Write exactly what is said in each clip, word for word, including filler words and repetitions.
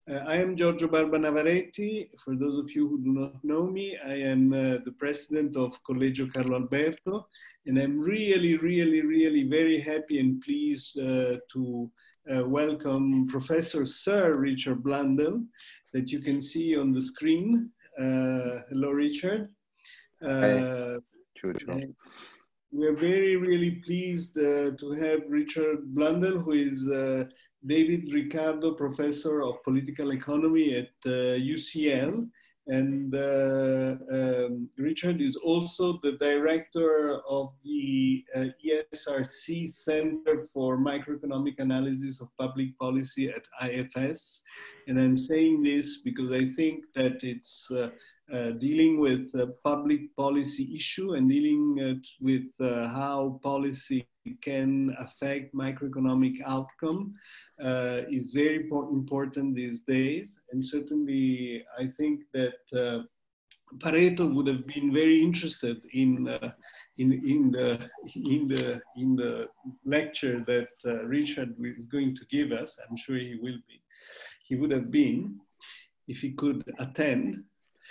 Uh, I am Giorgio Barba Navaretti. For those of you who do not know me, I am uh, the president of Collegio Carlo Alberto, and I'm really, really, really very happy and pleased uh, to uh, welcome Professor Sir Richard Blundell, that you can see on the screen. Uh, hello, Richard. Uh, Hi, Giorgio. We're very, really pleased uh, to have Richard Blundell, who is uh, David Ricardo Professor of Political Economy at uh, U C L. And uh, um, Richard is also the director of the uh, E S R C Center for Microeconomic Analysis of Public Policy at I F S. And I'm saying this because I think that it's uh, Uh, dealing with uh, public policy issue and dealing uh, with uh, how policy can affect microeconomic outcome uh, is very important these days. And certainly I think that uh, Pareto would have been very interested in, uh, in, in, the, in, the, in the lecture that uh, Richard is going to give us. I'm sure he will be. He would have been if he could attend.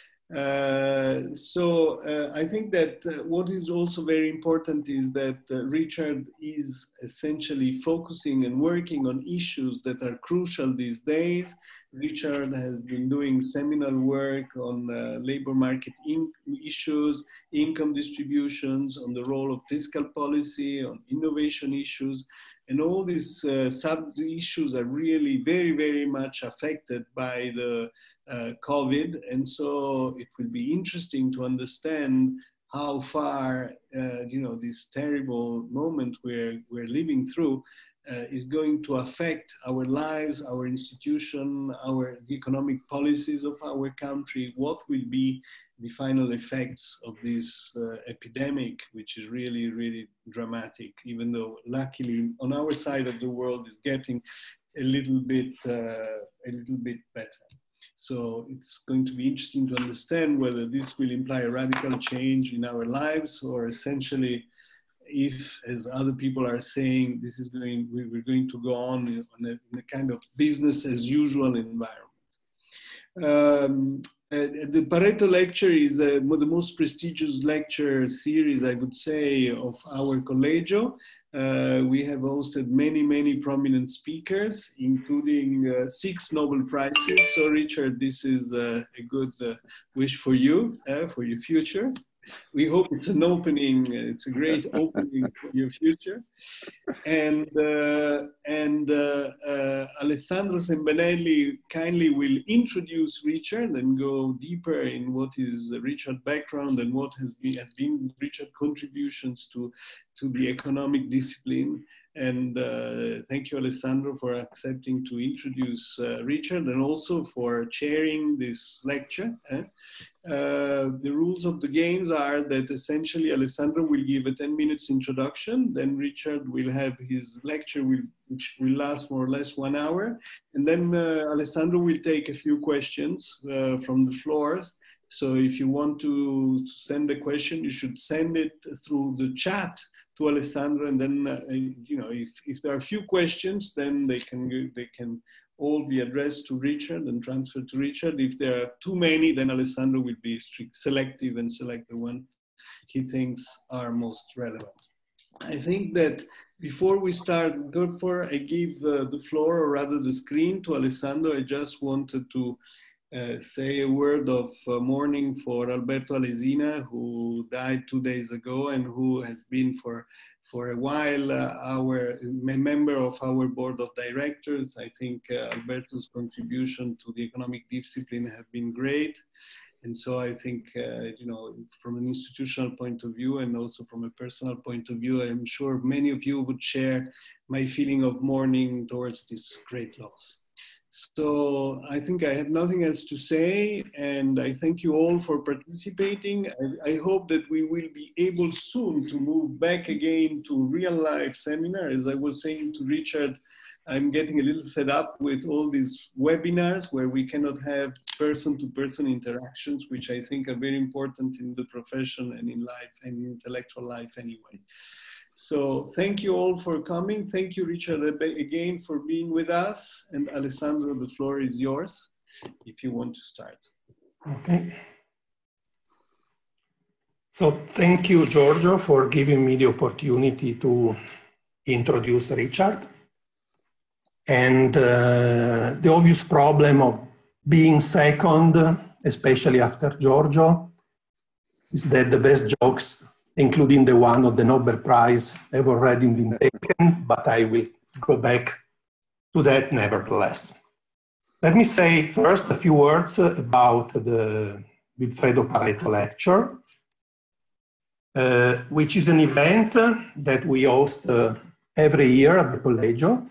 Uh, so uh, I think that uh, what is also very important is that uh, Richard is essentially focusing and working on issues that are crucial these days. Richard has been doing seminal work on uh, labor market in issues, income distributions, on the role of fiscal policy, on innovation issues. And all these uh, sub-issues are really very, very much affected by the uh, COVID. And so it will be interesting to understand how far, uh, you know, this terrible moment we're, we're living through uh, is going to affect our lives, our institution, our the economic policies of our country. What will be the final effects of this uh, epidemic, which is really, really dramatic, even though luckily on our side of the world is getting a little bit, uh, a little bit better. So it's going to be interesting to understand whether this will imply a radical change in our lives, or essentially if, as other people are saying, this is going, we're going to go on in, on a, in a kind of business as usual environment. Um, uh, the Pareto lecture is uh, the most prestigious lecture series, I would say, of our Collegio. Uh, we have hosted many, many prominent speakers, including uh, six Nobel Prizes. So, Richard, this is uh, a good uh, wish for you, uh, for your future. We hope it's an opening, it's a great opening for your future. And, uh, and uh, uh, Alessandro Sembenelli kindly will introduce Richard and go deeper in what is Richard's background and what has been, has been Richard's contributions to, to the economic discipline. And uh, thank you, Alessandro, for accepting to introduce uh, Richard, and also for chairing this lecture. Eh? Uh, the rules of the games are that essentially Alessandro will give a ten minutes introduction, then Richard will have his lecture, will, which will last more or less one hour, and then uh, Alessandro will take a few questions uh, from the floor. So if you want to, to send a question, you should send it through the chat to Alessandro, and then uh, you know, if, if there are a few questions, then they can they can all be addressed to Richard and transferred to Richard. If there are too many, then Alessandro will be strict, selective and select the one he thinks are most relevant. I think that before we start, therefore, I give uh, the floor, or rather the screen, to Alessandro. I just wanted to Uh, say a word of uh, mourning for Alberto Alesina, who died two days ago and who has been for, for a while uh, our a member of our board of directors. I think uh, Alberto's contribution to the economic discipline have been great. And so I think, uh, you know, from an institutional point of view and also from a personal point of view, I'm sure many of you would share my feeling of mourning towards this great loss. So I think I have nothing else to say, and I thank you all for participating. I, I hope that we will be able soon to move back again to real life seminar. As I was saying to Richard, I'm getting a little fed up with all these webinars where we cannot have person-to-person interactions, which I think are very important in the profession and in life and in intellectual life anyway. So thank you all for coming. Thank you, Richard, again for being with us. And Alessandro, the floor is yours if you want to start. Okay. So thank you, Giorgio, for giving me the opportunity to introduce Richard. And uh, the obvious problem of being second, especially after Giorgio, is that the best jokes, including the one of the Nobel Prize, have already been taken, but I will go back to that nevertheless. Let me say first a few words about the Vilfredo Pareto Lecture, uh, which is an event that we host uh, every year at the Collegio.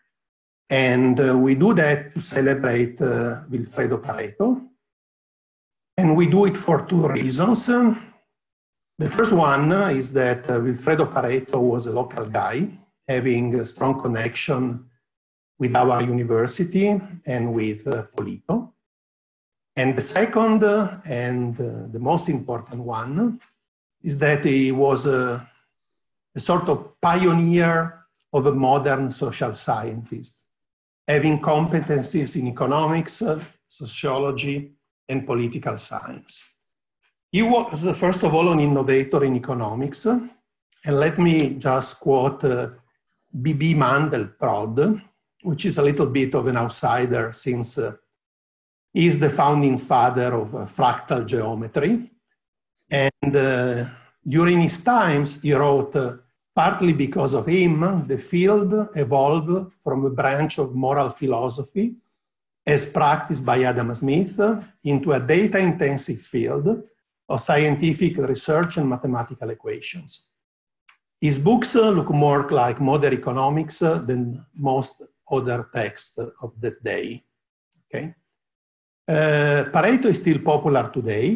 And uh, we do that to celebrate uh, Vilfredo Pareto. And we do it for two reasons. The first one is that uh, Vilfredo Pareto was a local guy, having a strong connection with our university and with uh, Polito. And the second uh, and uh, the most important one is that he was a, a sort of pioneer of a modern social scientist, having competencies in economics, uh, sociology, and political science. He was, uh, first of all, an innovator in economics. And let me just quote uh, B B Mandelbrot, which is a little bit of an outsider since uh, he is the founding father of uh, fractal geometry. And uh, during his times, he wrote, uh, partly because of him, the field evolved from a branch of moral philosophy as practiced by Adam Smith into a data-intensive field of scientific research and mathematical equations. His books uh, look more like modern economics uh, than most other texts of that day. Okay? Uh, Pareto is still popular today.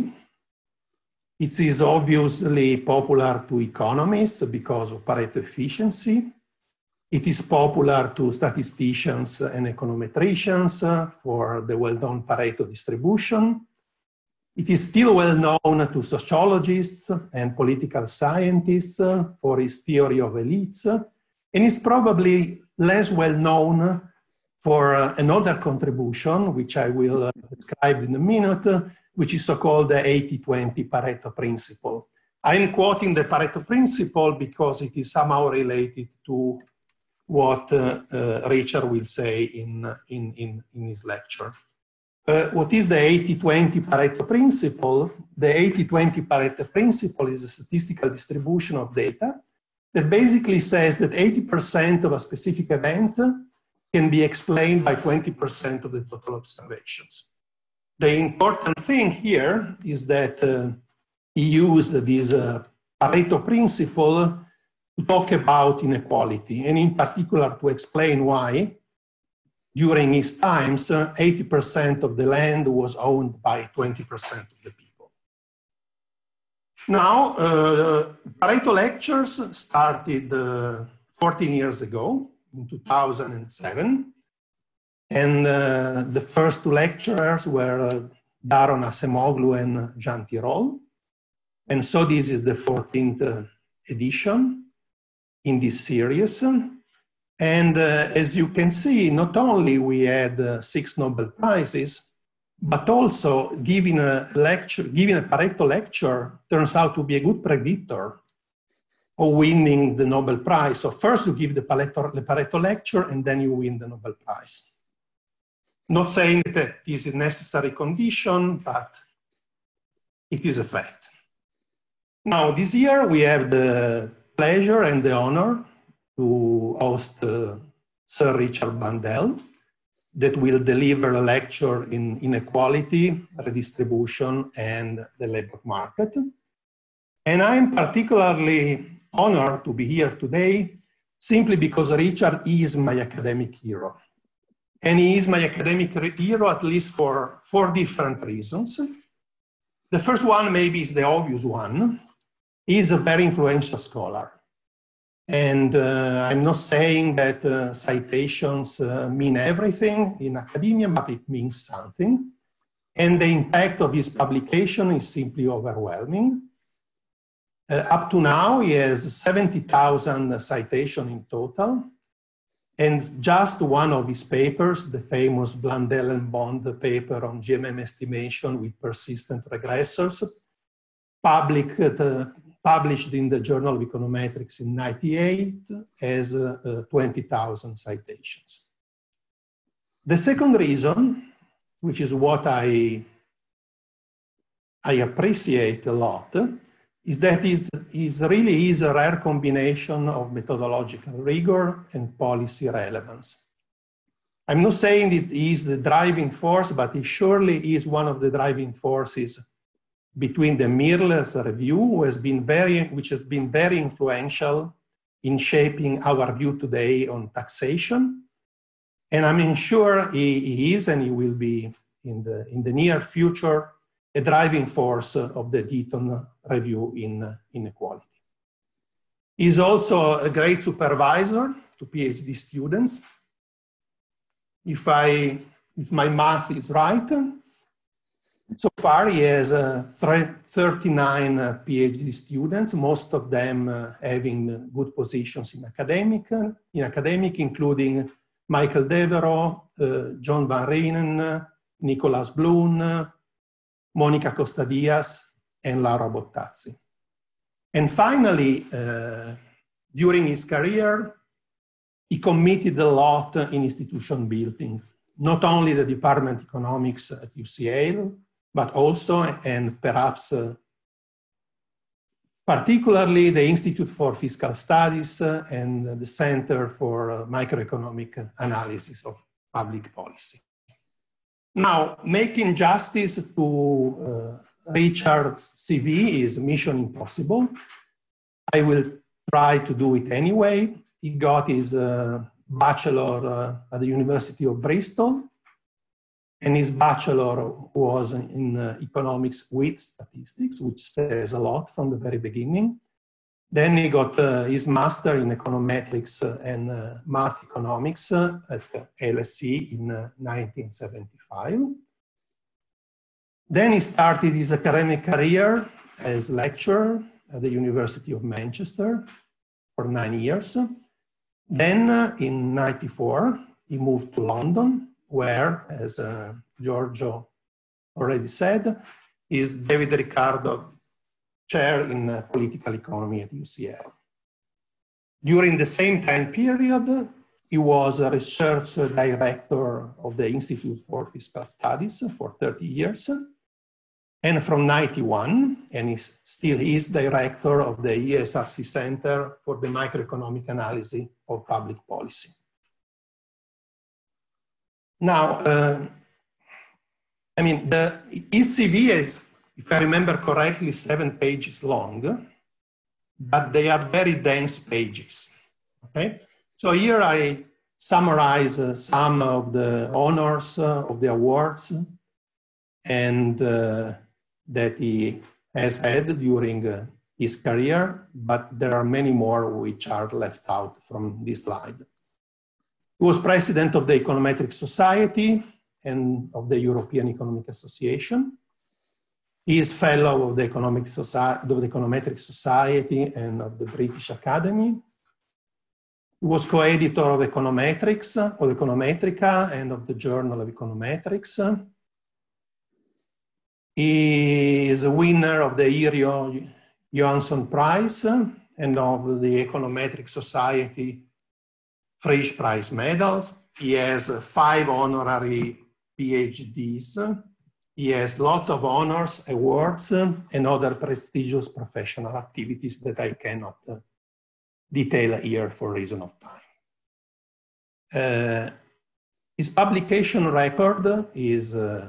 It is obviously popular to economists because of Pareto efficiency. It is popular to statisticians and econometricians uh, for the well-known Pareto distribution. It is still well known to sociologists and political scientists uh, for his theory of elites, and is probably less well known for uh, another contribution, which I will uh, describe in a minute, uh, which is so-called the eighty twenty Pareto principle. I'm quoting the Pareto principle because it is somehow related to what uh, uh, Richard will say in, in, in, in his lecture. Uh, what is the eighty twenty Pareto principle? The eighty twenty Pareto principle is a statistical distribution of data that basically says that eighty percent of a specific event can be explained by twenty percent of the total observations. The important thing here is that uh, he used this uh, Pareto principle to talk about inequality, and in particular to explain why during his times, eighty percent of the land was owned by twenty percent of the people. Now, uh, Pareto lectures started uh, fourteen years ago, in two thousand seven. And uh, the first two lecturers were uh, Daron Acemoglu and Jean Tirole. And so this is the fourteenth uh, edition in this series. And uh, as you can see, not only we had uh, six Nobel Prizes, but also giving a lecture, giving a Pareto lecture turns out to be a good predictor of winning the Nobel Prize. So first you give the Pareto, the Pareto lecture and then you win the Nobel Prize. Not saying that this is a necessary condition, but it is a fact. Now this year we have the pleasure and the honor to host uh, Sir Richard Blundell that will deliver a lecture in inequality, redistribution, and the labor market. And I'm particularly honored to be here today simply because Richard is my academic hero. And he is my academic hero at least for four different reasons. The first one maybe is the obvious one. He is a very influential scholar. And uh, I'm not saying that uh, citations uh, mean everything in academia, but it means something. And the impact of his publication is simply overwhelming. Uh, up to now, he has seventy thousand citations in total. And just one of his papers, the famous Blundell and Bond paper on G M M estimation with persistent regressors, public, uh, published in the Journal of Econometrics in ninety-eight, has uh, uh, twenty thousand citations. The second reason, which is what I, I appreciate a lot, is that it is really is a rare combination of methodological rigor and policy relevance. I'm not saying it is the driving force, but it surely is one of the driving forces between the Mirrlees review, who has been very, which has been very influential in shaping our view today on taxation. And I'm sure he, he is, and he will be in the, in the near future, a driving force of the Deaton review in inequality. He's also a great supervisor to PhD students. If, I, if my math is right, so far he has uh, thirty-nine uh, PhD students, most of them uh, having good positions in academic, uh, in academic, including Michael Devereux, uh, John Van Reenen, uh, Nicholas Bloom, uh, Monica Costa-Diaz, and Laura Bottazzi. And finally, uh, during his career, he committed a lot in institution building, not only the Department of Economics at U C L, but also, and perhaps uh, particularly, the Institute for Fiscal Studies uh, and the Center for uh, Microeconomic Analysis of Public Policy. Now, making justice to uh, Richard's C V is mission impossible. I will try to do it anyway. He got his uh, bachelor uh, at the University of Bristol, and his bachelor was in uh, economics with statistics, which says a lot from the very beginning. Then he got uh, his master in econometrics and uh, math economics uh, at L S E in uh, nineteen seventy-five. Then he started his academic career as lecturer at the University of Manchester for nine years. Then uh, in ninety-four, he moved to London, where, as uh, Giorgio already said, is David Ricardo Chair in uh, Political Economy at U C L. During the same time period, he was a research director of the Institute for Fiscal Studies for thirty years. And from ninety-one, and he still is director of the E S R C Center for the Microeconomic Analysis of Public Policy. Now, uh, I mean, the E C V is, if I remember correctly, seven pages long, but they are very dense pages, okay? So here I summarize uh, some of the honors uh, of the awards and uh, that he has had during uh, his career, but there are many more which are left out from this slide. He was president of the Econometric Society and of the European Economic Association. He is fellow of the, Economic Society, of the Econometric Society and of the British Academy. He was co-editor of Econometrics, of Econometrica, and of the Journal of Econometrics. He is a winner of the Irio Johansson Prize and of the Econometric Society Frisch Prize medals. He has five honorary PhDs. He has lots of honors, awards, and other prestigious professional activities that I cannot uh, detail here for reason of time. Uh, his publication record is, uh,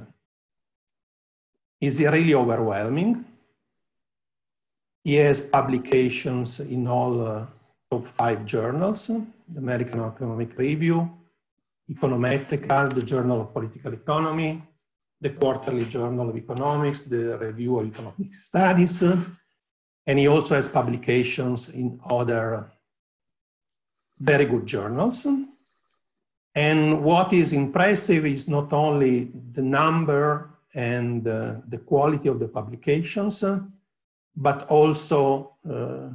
is really overwhelming. He has publications in all uh, top five journals: the American Economic Review, Econometrica, the Journal of Political Economy, the Quarterly Journal of Economics, the Review of Economic Studies, and he also has publications in other very good journals. And what is impressive is not only the number and uh, the quality of the publications, but also uh,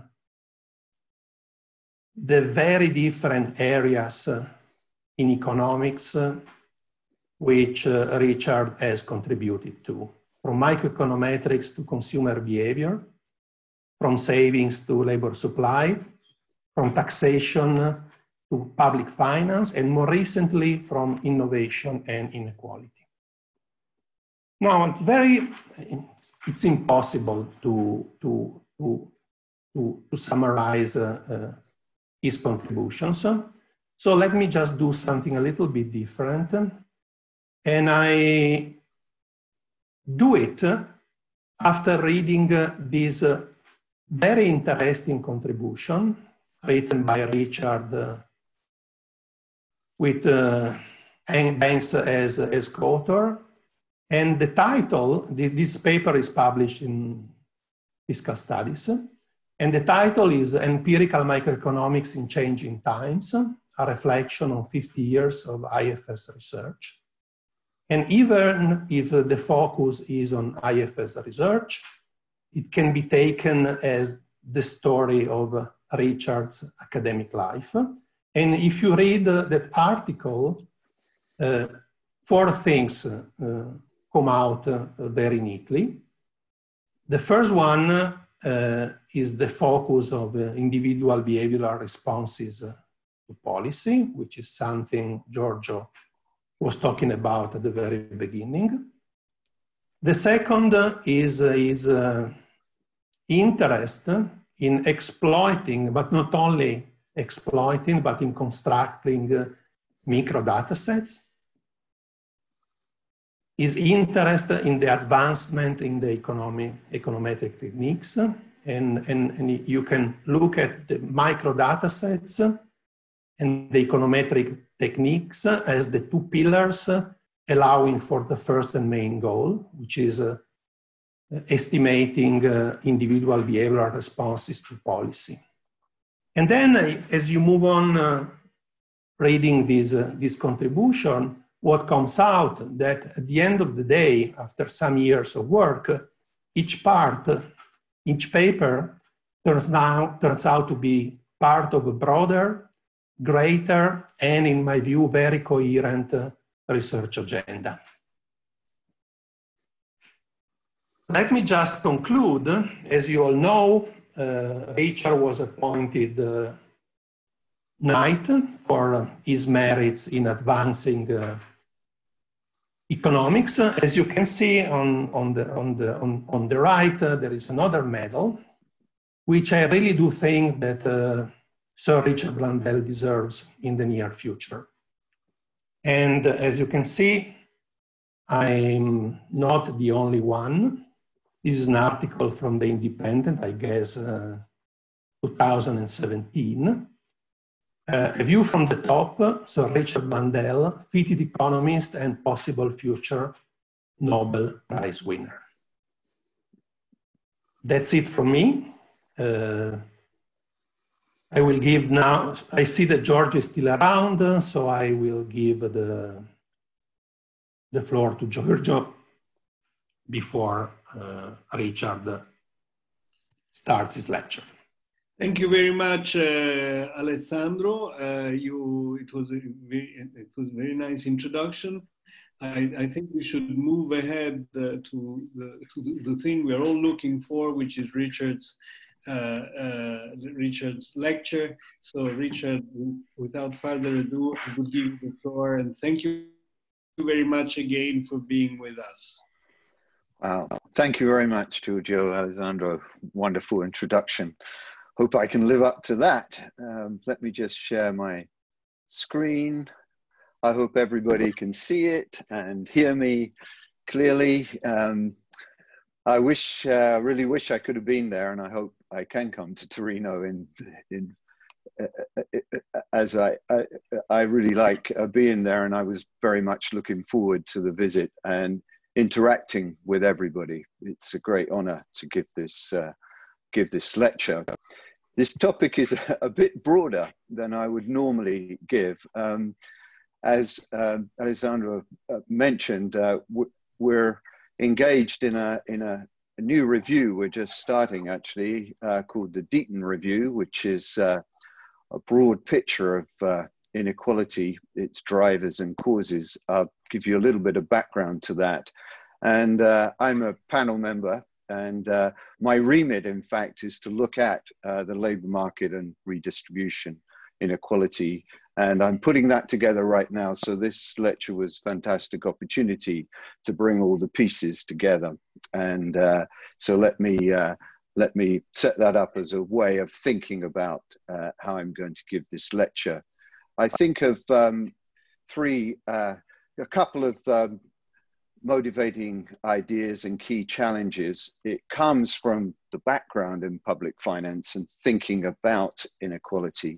the very different areas uh, in economics uh, which uh, Richard has contributed to, from microeconometrics to consumer behavior, from savings to labor supply, from taxation to public finance, and more recently from innovation and inequality. Now, it's very, it's impossible to, to, to, to, to summarize uh, uh, his contributions. So let me just do something a little bit different. And I do it after reading uh, this uh, very interesting contribution written by Richard uh, with uh, Banks as, as co-author. And the title, the, this paper is published in Fiscal Studies, and the title is Empirical Microeconomics in Changing Times, a reflection on fifty years of I F S research. And even if the focus is on I F S research, it can be taken as the story of Richard's academic life. And if you read that article, uh, four things uh, come out uh, very neatly. The first one uh, is the focus of uh, individual behavioral responses uh, to policy, which is something Giorgio was talking about at the very beginning. The second uh, is, uh, is uh, interest in exploiting, but not only exploiting, but in constructing uh, micro data sets. Is interest in the advancement in the economic, econometric techniques. And, and, and you can look at the micro data sets and the econometric techniques as the two pillars allowing for the first and main goal, which is uh, estimating uh, individual behavioral responses to policy. And then uh, as you move on uh, reading this, uh, this contribution, what comes out that at the end of the day, after some years of work, each part, each paper turns, now, turns out to be part of a broader, greater, and in my view, very coherent uh, research agenda. Let me just conclude. As you all know, uh, Richard was appointed uh, Knight for his merits in advancing uh, economics. As you can see on, on, the, on, the, on, on the right, uh, there is another medal, which I really do think that uh, Sir Richard Blundell deserves in the near future. And uh, as you can see, I'm not the only one. This is an article from The Independent, I guess, uh, two thousand seventeen. Uh, a view from the top, Sir Richard Blundell, fitted economist and possible future Nobel Prize winner. That's it from me. Uh, I will give now, I see that George is still around, so I will give the, the floor to Giorgio before uh, Richard starts his lecture. Thank you very much, uh, Alessandro. Uh, you, it was a very, it was a very nice introduction. I, I think we should move ahead uh, to, the, to the, the thing we're all looking for, which is Richard's uh, uh, Richard's lecture. So, Richard, without further ado, I will give you the floor, and thank you very much again for being with us. Wow, thank you very much, Giorgio, Alessandro. Wonderful introduction. Hope I can live up to that. Um, let me just share my screen. I hope everybody can see it and hear me clearly. Um, I wish, uh, really wish I could have been there, and I hope I can come to Torino in, in uh, as I, I, I really like uh, being there, and I was very much looking forward to the visit and interacting with everybody. It's a great honor to give this uh, give this lecture. This topic is a bit broader than I would normally give. Um, as um, Alessandro uh, mentioned, uh, we're engaged in a in a new review we're just starting, actually, uh, called the Deaton Review, which is uh, a broad picture of uh, inequality, its drivers and causes. I'll give you a little bit of background to that. And uh, I'm a panel member, and uh, my remit, in fact, is to look at uh, the labor market and redistribution inequality. And I'm putting that together right now. So this lecture was a fantastic opportunity to bring all the pieces together. And uh, so let me, uh, let me set that up as a way of thinking about uh, how I'm going to give this lecture. I think of um, three, uh, a couple of um, motivating ideas and key challenges. It comes from the background in public finance and thinking about inequality.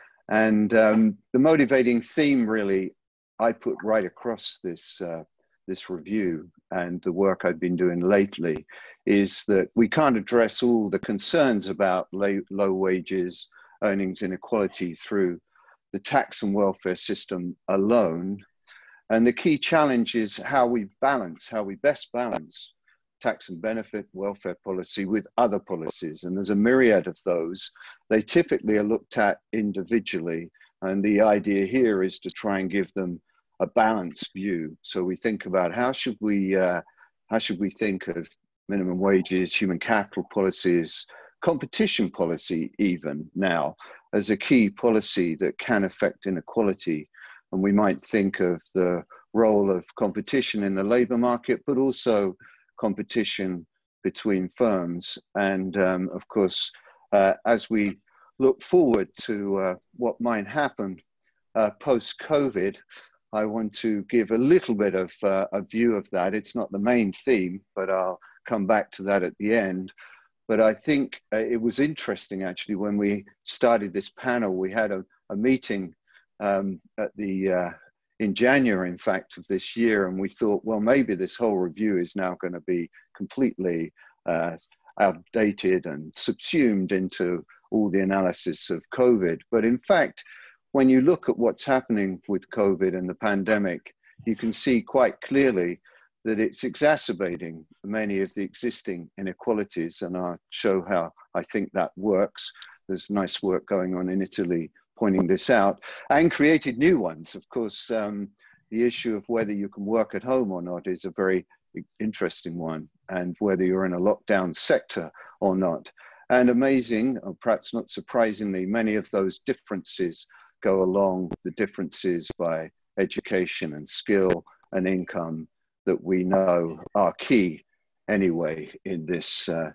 And um, the motivating theme, really, I put right across this, uh, this review and the work I've been doing lately, is that we can't address all the concerns about low, low wages, earnings inequality through the tax and welfare system alone. And the key challenge is how we balance, how we best balance tax and benefit welfare policy with other policies. And there's a myriad of those. They typically are looked at individually. And the idea here is to try and give them a balanced view. So we think about how should we, uh, how should we think of minimum wages, human capital policies, competition policy even now as a key policy that can affect inequality. And we might think of the role of competition in the labor market, but also competition between firms. And um, of course, uh, as we look forward to uh, what might happen uh, post-COVID, I want to give a little bit of uh, a view of that. It's not the main theme, but I'll come back to that at the end. But I think uh, it was interesting, actually, when we started this panel, we had a, a meeting um, at the uh, in January, in fact, of this year, and we thought, well, maybe this whole review is now going to be completely uh, outdated and subsumed into all the analysis of COVID. But in fact, when you look at what's happening with COVID and the pandemic, you can see quite clearly that it's exacerbating many of the existing inequalities, and I'll show how I think that works. There's nice work going on in Italy pointing this out, and created new ones. Of course, um, the issue of whether you can work at home or not is a very interesting one, and whether you're in a lockdown sector or not. And amazing, or perhaps not surprisingly, many of those differences go along the differences by education and skill and income that we know are key anyway in this, uh,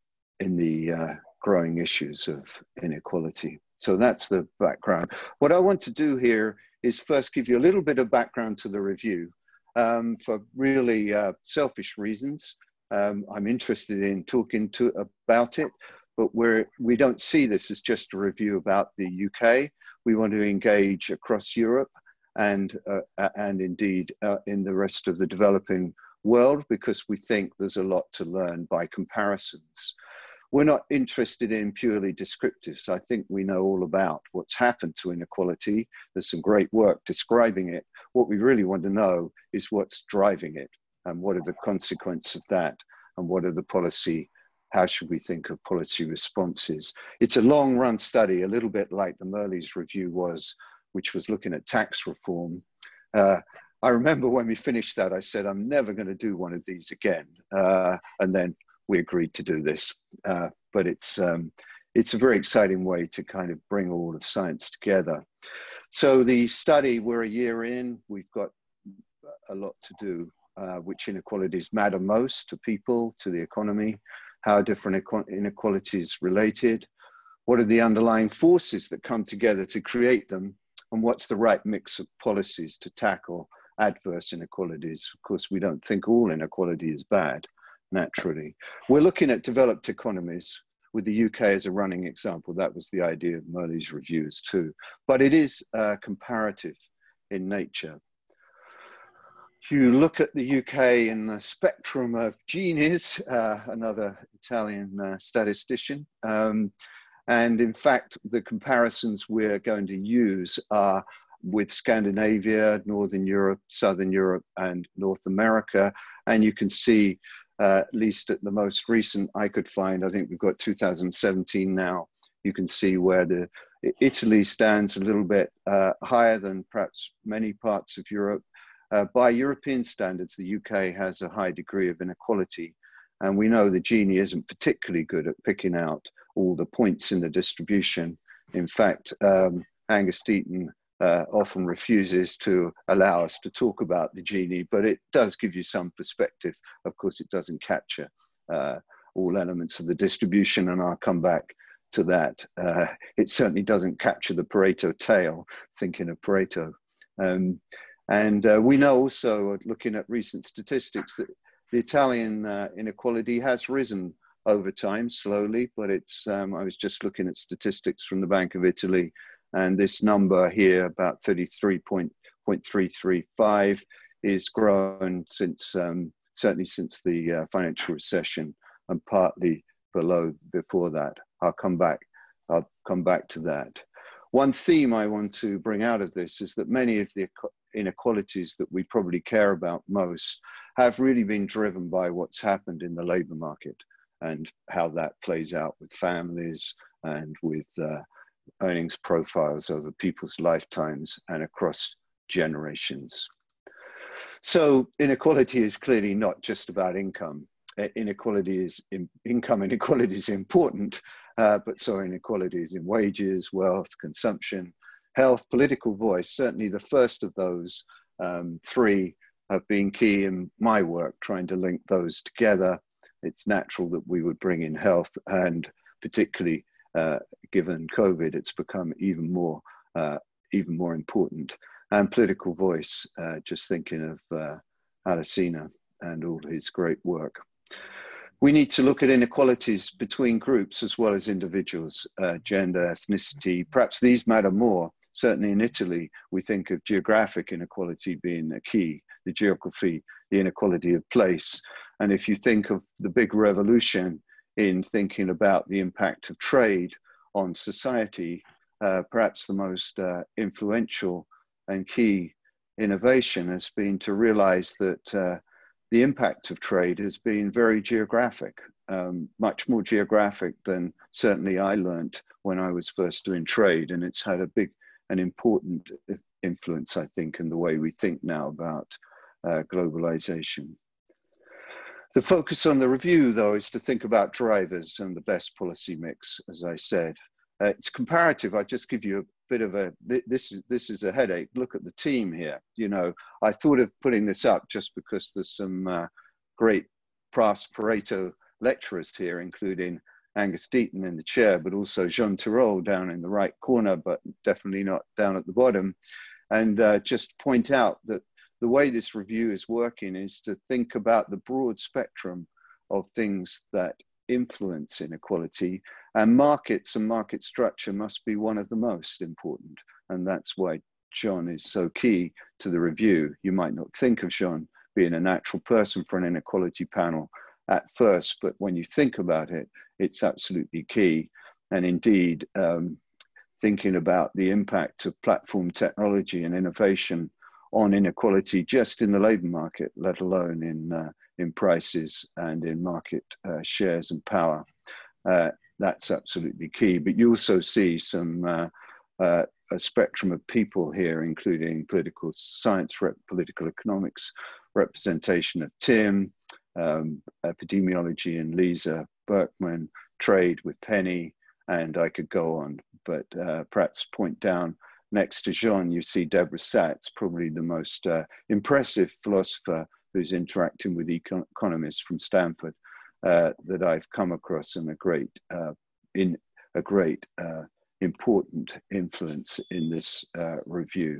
in the uh, growing issues of inequality. So that's the background. What I want to do here is first give you a little bit of background to the review um, for really uh, selfish reasons. Um, I'm interested in talking to about it, but we're, we don't see this as just a review about the U K. We want to engage across Europe and, uh, and indeed uh, in the rest of the developing world, because we think there's a lot to learn by comparisons. We're not interested in purely descriptives. I think we know all about what's happened to inequality. There's some great work describing it. What we really want to know is what's driving it, and what are the consequences of that, and what are the policy, how should we think of policy responses? It's a long run study, a little bit like the Merlis review was, which was looking at tax reform. Uh, I remember when we finished that, I said, I'm never going to do one of these again. Uh, and then we agreed to do this. Uh, but it's, um, it's a very exciting way to kind of bring all of science together. So the study, we're a year in, we've got a lot to do. Uh, which inequalities matter most to people, to the economy, how different inequalities related, what are the underlying forces that come together to create them, and what's the right mix of policies to tackle adverse inequalities. Of course, we don't think all inequality is bad, naturally. We're looking at developed economies, with the U K as a running example. That was the idea of Merlis reviews too. But it is uh, comparative in nature. You look at the U K in the spectrum of genies, uh, another Italian uh, statistician. Um, and in fact, the comparisons we're going to use are with Scandinavia, Northern Europe, Southern Europe, and North America. And you can see uh, at least at the most recent I could find. I think we've got two thousand seventeen now. You can see where the Italy stands a little bit uh, higher than perhaps many parts of Europe. Uh, by European standards, the U K has a high degree of inequality. And we know the Gini isn't particularly good at picking out all the points in the distribution. In fact, um, Angus Deaton uh, often refuses to allow us to talk about the Gini, but it does give you some perspective. Of course, it doesn't capture uh, all elements of the distribution, and I'll come back to that. Uh, it certainly doesn't capture the Pareto tail, thinking of Pareto. Um, and uh, we know also, looking at recent statistics, that the Italian uh, inequality has risen over time, slowly, but it's, um, I was just looking at statistics from the Bank of Italy, and this number here, about thirty-three point three three five, is grown since, um, certainly since the uh, financial recession, and partly below before that. I'll come back, I'll come back to that. One theme I want to bring out of this is that many of the inequalities that we probably care about most have really been driven by what's happened in the labor market and how that plays out with families and with uh, earnings profiles over people's lifetimes and across generations. So inequality is clearly not just about income. Inequality is, in, income inequality is important, uh, but so inequalities in wages, wealth, consumption, health, political voice. Certainly the first of those um, three have been key in my work, trying to link those together. It's natural that we would bring in health, and particularly uh, given COVID, it's become even more, uh, even more important. And political voice, uh, just thinking of uh, Alesina and all his great work. We need to look at inequalities between groups as well as individuals, uh, gender, ethnicity. Perhaps these matter more. Certainly in Italy, we think of geographic inequality being a key, the geography, the inequality of place. And if you think of the big revolution in thinking about the impact of trade on society, uh, perhaps the most uh, influential and key innovation has been to realize that uh, the impact of trade has been very geographic, um, much more geographic than certainly I learned when I was first doing trade. And it's had a big and important influence, I think, in the way we think now about uh, globalization. The focus on the review, though, is to think about drivers and the best policy mix, as I said. Uh, it's comparative. I just give you a bit of a, this is, this is a headache. Look at the team here. You know, I thought of putting this up just because there's some uh, great past Pareto lecturers here, including Angus Deaton in the chair, but also Jean Tirole down in the right corner, but definitely not down at the bottom. And uh, just point out that the way this review is working is to think about the broad spectrum of things that influence inequality, and markets and market structure must be one of the most important. And that's why John is so key to the review. You might not think of John being a natural person for an inequality panel at first, but when you think about it, it's absolutely key. And indeed, um, thinking about the impact of platform technology and innovation on inequality just in the labor market, let alone in, uh, in prices and in market uh, shares and power. Uh, that's absolutely key. But you also see some uh, uh, a spectrum of people here, including political science, rep political economics, representation of Tim, um, epidemiology and Lisa Berkman, trade with Penny, and I could go on, but uh, perhaps point down next to Jean, you see Deborah Satz, probably the most uh, impressive philosopher who's interacting with econ economists from Stanford uh, that I've come across, and a great, uh, in a great uh, important influence in this uh, review.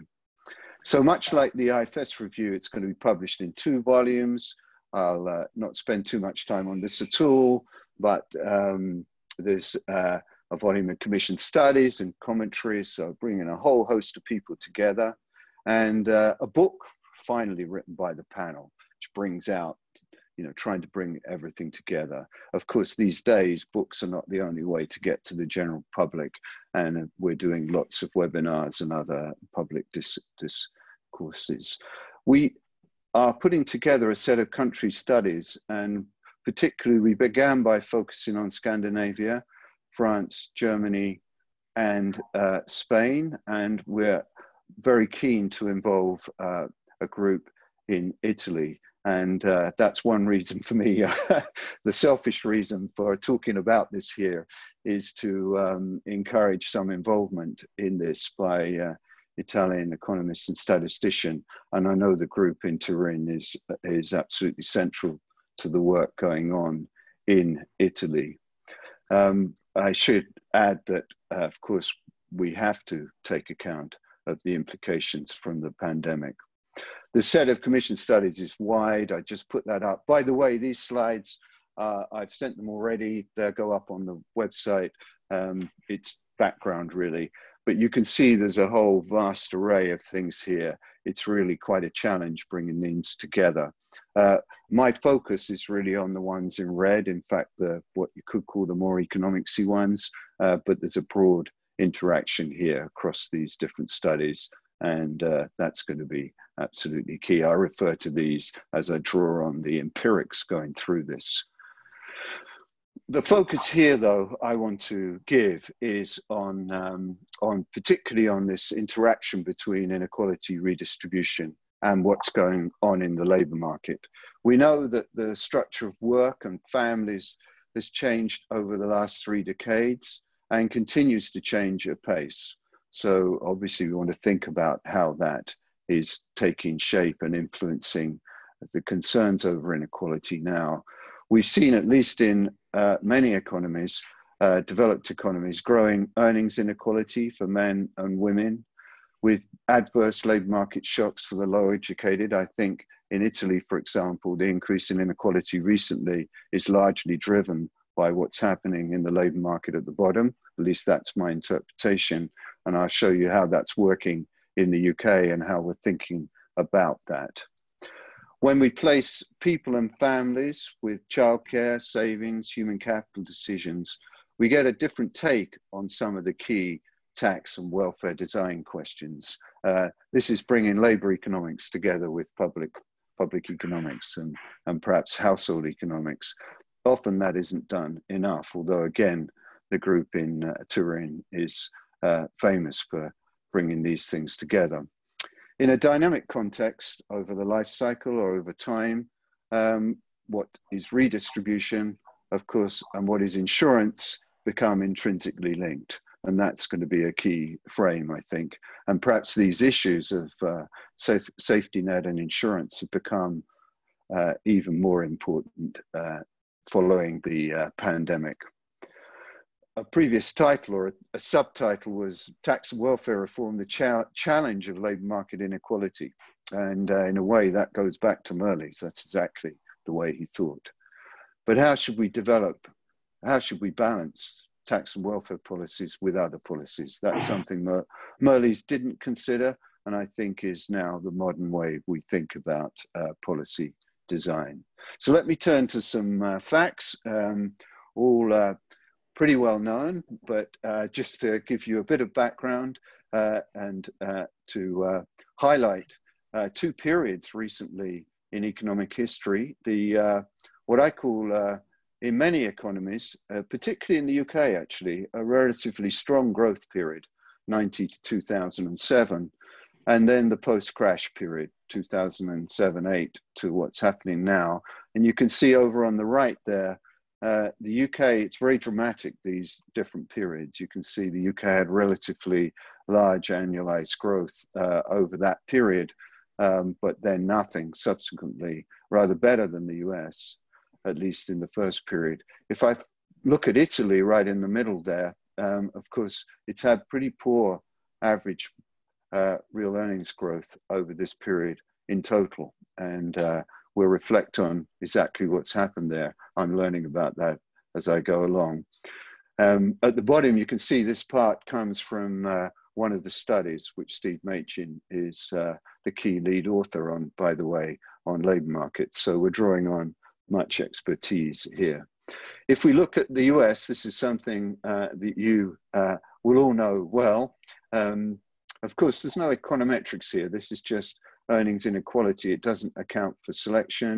So much like the I F S review, it's going to be published in two volumes. I'll uh, not spend too much time on this at all, but um, there's uh, a volume of commissioned studies and commentaries, so bringing a whole host of people together, and uh, a book finally written by the panel, which brings out, you know, trying to bring everything together. Of course, these days, books are not the only way to get to the general public, and we're doing lots of webinars and other public dis discourses. We are putting together a set of country studies, and particularly, we began by focusing on Scandinavia, France, Germany, and uh, Spain, and we're very keen to involve uh, a group in Italy. And uh, that's one reason for me, uh, the selfish reason for talking about this here is to um, encourage some involvement in this by uh, Italian economists and statistician. And I know the group in Turin is, is absolutely central to the work going on in Italy. Um, I should add that, uh, of course, we have to take account of the implications from the pandemic. The set of commission studies is wide. I just put that up. By the way, these slides, uh, I've sent them already. They'll go up on the website. Um, it's background, really. But you can see there's a whole vast array of things here. It's really quite a challenge bringing these together. Uh, my focus is really on the ones in red. In fact, the what you could call the more economicsy ones, uh, but there's a broad interaction here across these different studies. And uh, that's going to be absolutely key. I refer to these as I draw on the empirics going through this. The focus here, though, I want to give is on, um, on particularly on this interaction between inequality redistribution and what's going on in the labour market. We know that the structure of work and families has changed over the last three decades and continues to change at pace. So obviously we want to think about how that is taking shape and influencing the concerns over inequality now. We've seen, at least in uh, many economies, uh, developed economies, growing earnings inequality for men and women with adverse labour market shocks for the low educated. I think in Italy, for example, the increase in inequality recently is largely driven by what's happening in the labour market at the bottom. At least that's my interpretation. And I'll show you how that's working in the U K and how we're thinking about that. When we place people and families with childcare, savings, human capital decisions, we get a different take on some of the key tax and welfare design questions. Uh, this is bringing labour economics together with public, public economics and, and perhaps household economics. Often that isn't done enough, although again, the group in uh, Turin is uh, famous for bringing these things together. In a dynamic context, over the life cycle or over time, um, what is redistribution, of course, and what is insurance become intrinsically linked. And that's going to be a key frame, I think. And perhaps these issues of uh, safe, safety net and insurance have become uh, even more important uh, following the uh, pandemic. A previous title or a, a subtitle was Tax and Welfare Reform, the cha Challenge of Labour Market Inequality. And uh, in a way that goes back to Merlis. That's exactly the way he thought. But how should we develop, how should we balance tax and welfare policies with other policies? That's something Mer Merlis didn't consider, and I think is now the modern way we think about uh, policy design. So let me turn to some uh, facts, um, all uh, pretty well known, but uh, just to give you a bit of background uh, and uh, to uh, highlight uh, two periods recently in economic history. The uh, what I call, uh, in many economies, uh, particularly in the U K actually, a relatively strong growth period, ninety to two thousand seven, and then the post-crash period, two thousand seven eight to what's happening now. And you can see over on the right there, Uh, the U K, it's very dramatic, these different periods. You can see the U K had relatively large annualized growth uh, over that period, um, but then nothing subsequently, rather better than the U S, at least in the first period. If I look at Italy right in the middle there, um, of course, it's had pretty poor average uh, real earnings growth over this period in total. And uh, we'll reflect on exactly what's happened there. I'm learning about that as I go along. Um, at the bottom, you can see this part comes from uh, one of the studies, which Steve Machin is uh, the key lead author on, by the way, on labour markets. So we're drawing on much expertise here. If we look at the U S, this is something uh, that you uh, will all know well. Um, of course, there's no econometrics here. This is just earnings inequality. It doesn't account for selection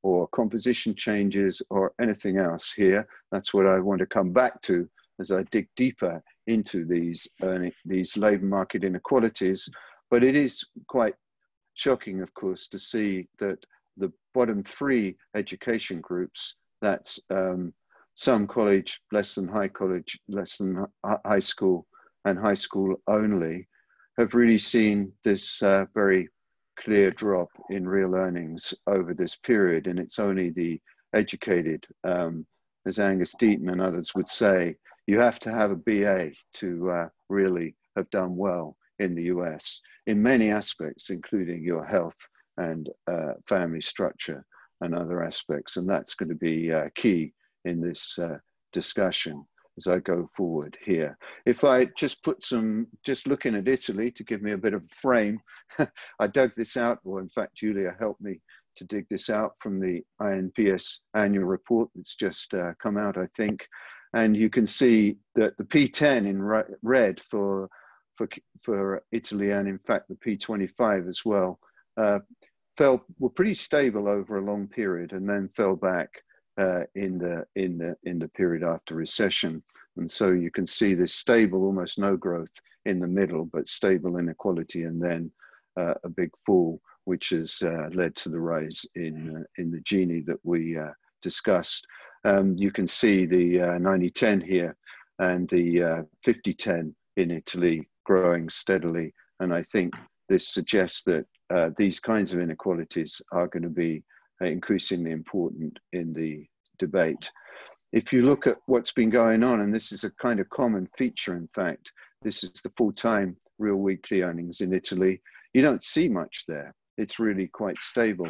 or composition changes or anything else here. That's what I want to come back to as I dig deeper into these, earning, these labor market inequalities. But it is quite shocking, of course, to see that the bottom three education groups, that's um, some college, less than high college, less than high school, and high school only, have really seen this uh, very clear drop in real earnings over this period. And it's only the educated, um, as Angus Deaton and others would say, you have to have a B A to uh, really have done well in the U S in many aspects, including your health and uh, family structure and other aspects. And that's going to be uh, key in this uh, discussion as I go forward here. If I just put some, just looking at Italy to give me a bit of a frame, I dug this out, or in fact, Julia helped me to dig this out from the I N P S annual report that's just uh, come out, I think. And you can see that the P ten in red for, for, for Italy, and in fact the P twenty-five as well, uh, fell, were pretty stable over a long period and then fell back Uh, in the in the in the period after recession. And so you can see this stable, almost no growth in the middle, but stable inequality, and then uh, a big fall, which has uh, led to the rise in uh, in the Gini that we uh, discussed. Um, you can see the uh, ninety ten here and the uh, fifty ten in Italy growing steadily, and I think this suggests that uh, these kinds of inequalities are going to be increasingly important in the debate. If you look at what's been going on, and this is a kind of common feature, in fact, this is the full-time real weekly earnings in Italy. You don't see much there. It's really quite stable.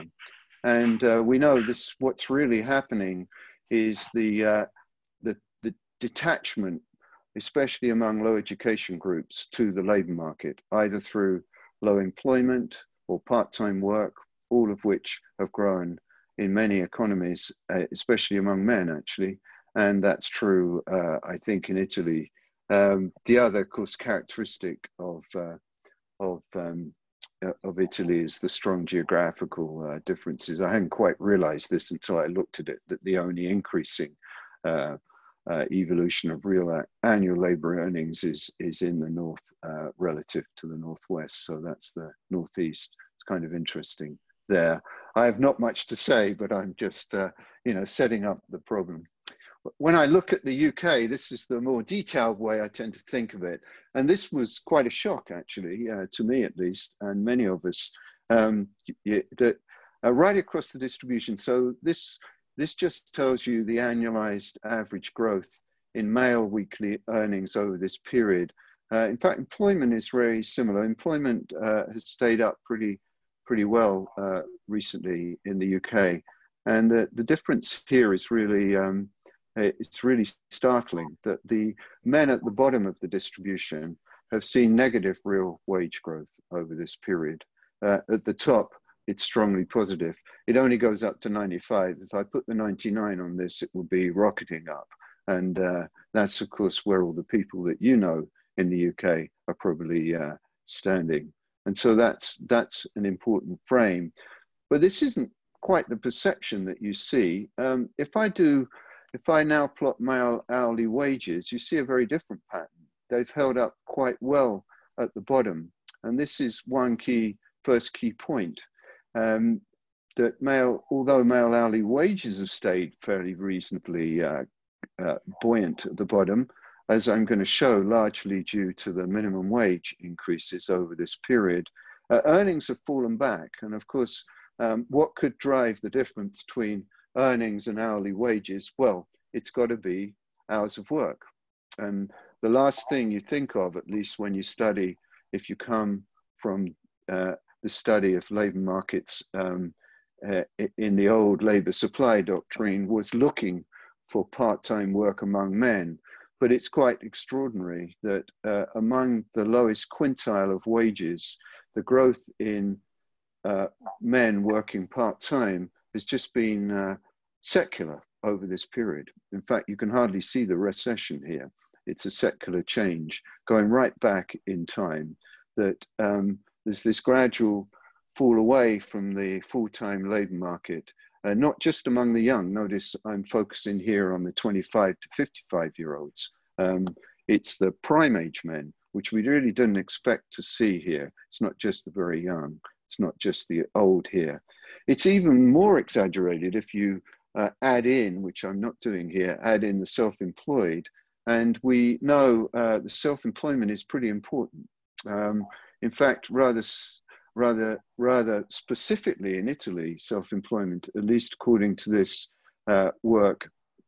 And uh, we know this, what's really happening is the, uh, the, the detachment, especially among low education groups, to the labor market, either through low employment or part-time work, all of which have grown in many economies, uh, especially among men, actually. And that's true, uh, I think, in Italy. Um, the other, of course, characteristic of, uh, of, um, uh, of Italy is the strong geographical uh, differences. I hadn't quite realized this until I looked at it, that the only increasing uh, uh, evolution of real annual labor earnings is, is in the north uh, relative to the northwest. So that's the northeast. It's kind of interesting there. I have not much to say, but I'm just, uh, you know, setting up the problem. When I look at the U K, this is the more detailed way I tend to think of it. And this was quite a shock, actually, uh, to me at least, and many of us, um, that uh, right across the distribution. So this, this just tells you the annualized average growth in male weekly earnings over this period. Uh, in fact, employment is very similar. Employment uh, has stayed up pretty pretty well uh, recently in the U K. And the, the difference here is really, um, it's really startling that the men at the bottom of the distribution have seen negative real wage growth over this period. Uh, at the top, it's strongly positive. It only goes up to ninety-five. If I put the ninety-nine on this, it will be rocketing up. And uh, that's, of course, where all the people that you know in the U K are probably uh, standing. And so that's, that's an important frame. But this isn't quite the perception that you see. Um, if I do, if I now plot male hourly wages, you see a very different pattern. They've held up quite well at the bottom. And this is one key, first key point, um, that male, although male hourly wages have stayed fairly reasonably uh, uh, buoyant at the bottom, as I'm going to show, largely due to the minimum wage increases over this period, uh, earnings have fallen back. And of course, um, what could drive the difference between earnings and hourly wages? Well, it's got to be hours of work. And the last thing you think of, at least when you study, if you come from uh, the study of labor markets um, uh, in the old labor supply doctrine, was looking for part-time work among men. But it's quite extraordinary that uh, among the lowest quintile of wages, the growth in uh, men working part-time has just been uh, secular over this period. In fact, you can hardly see the recession here. It's a secular change going right back in time, that um, there's this gradual fall away from the full-time labor market uh, not just among the young. Notice I'm focusing here on the twenty-five to fifty-five year olds. Um, it's the prime age men, which we really didn't expect to see here. It's not just the very young. It's not just the old here. It's even more exaggerated if you uh, add in, which I'm not doing here, add in the self-employed. And we know uh, the self-employment is pretty important. Um, in fact, rather, rather, rather specifically in Italy, self-employment, at least according to this uh, work,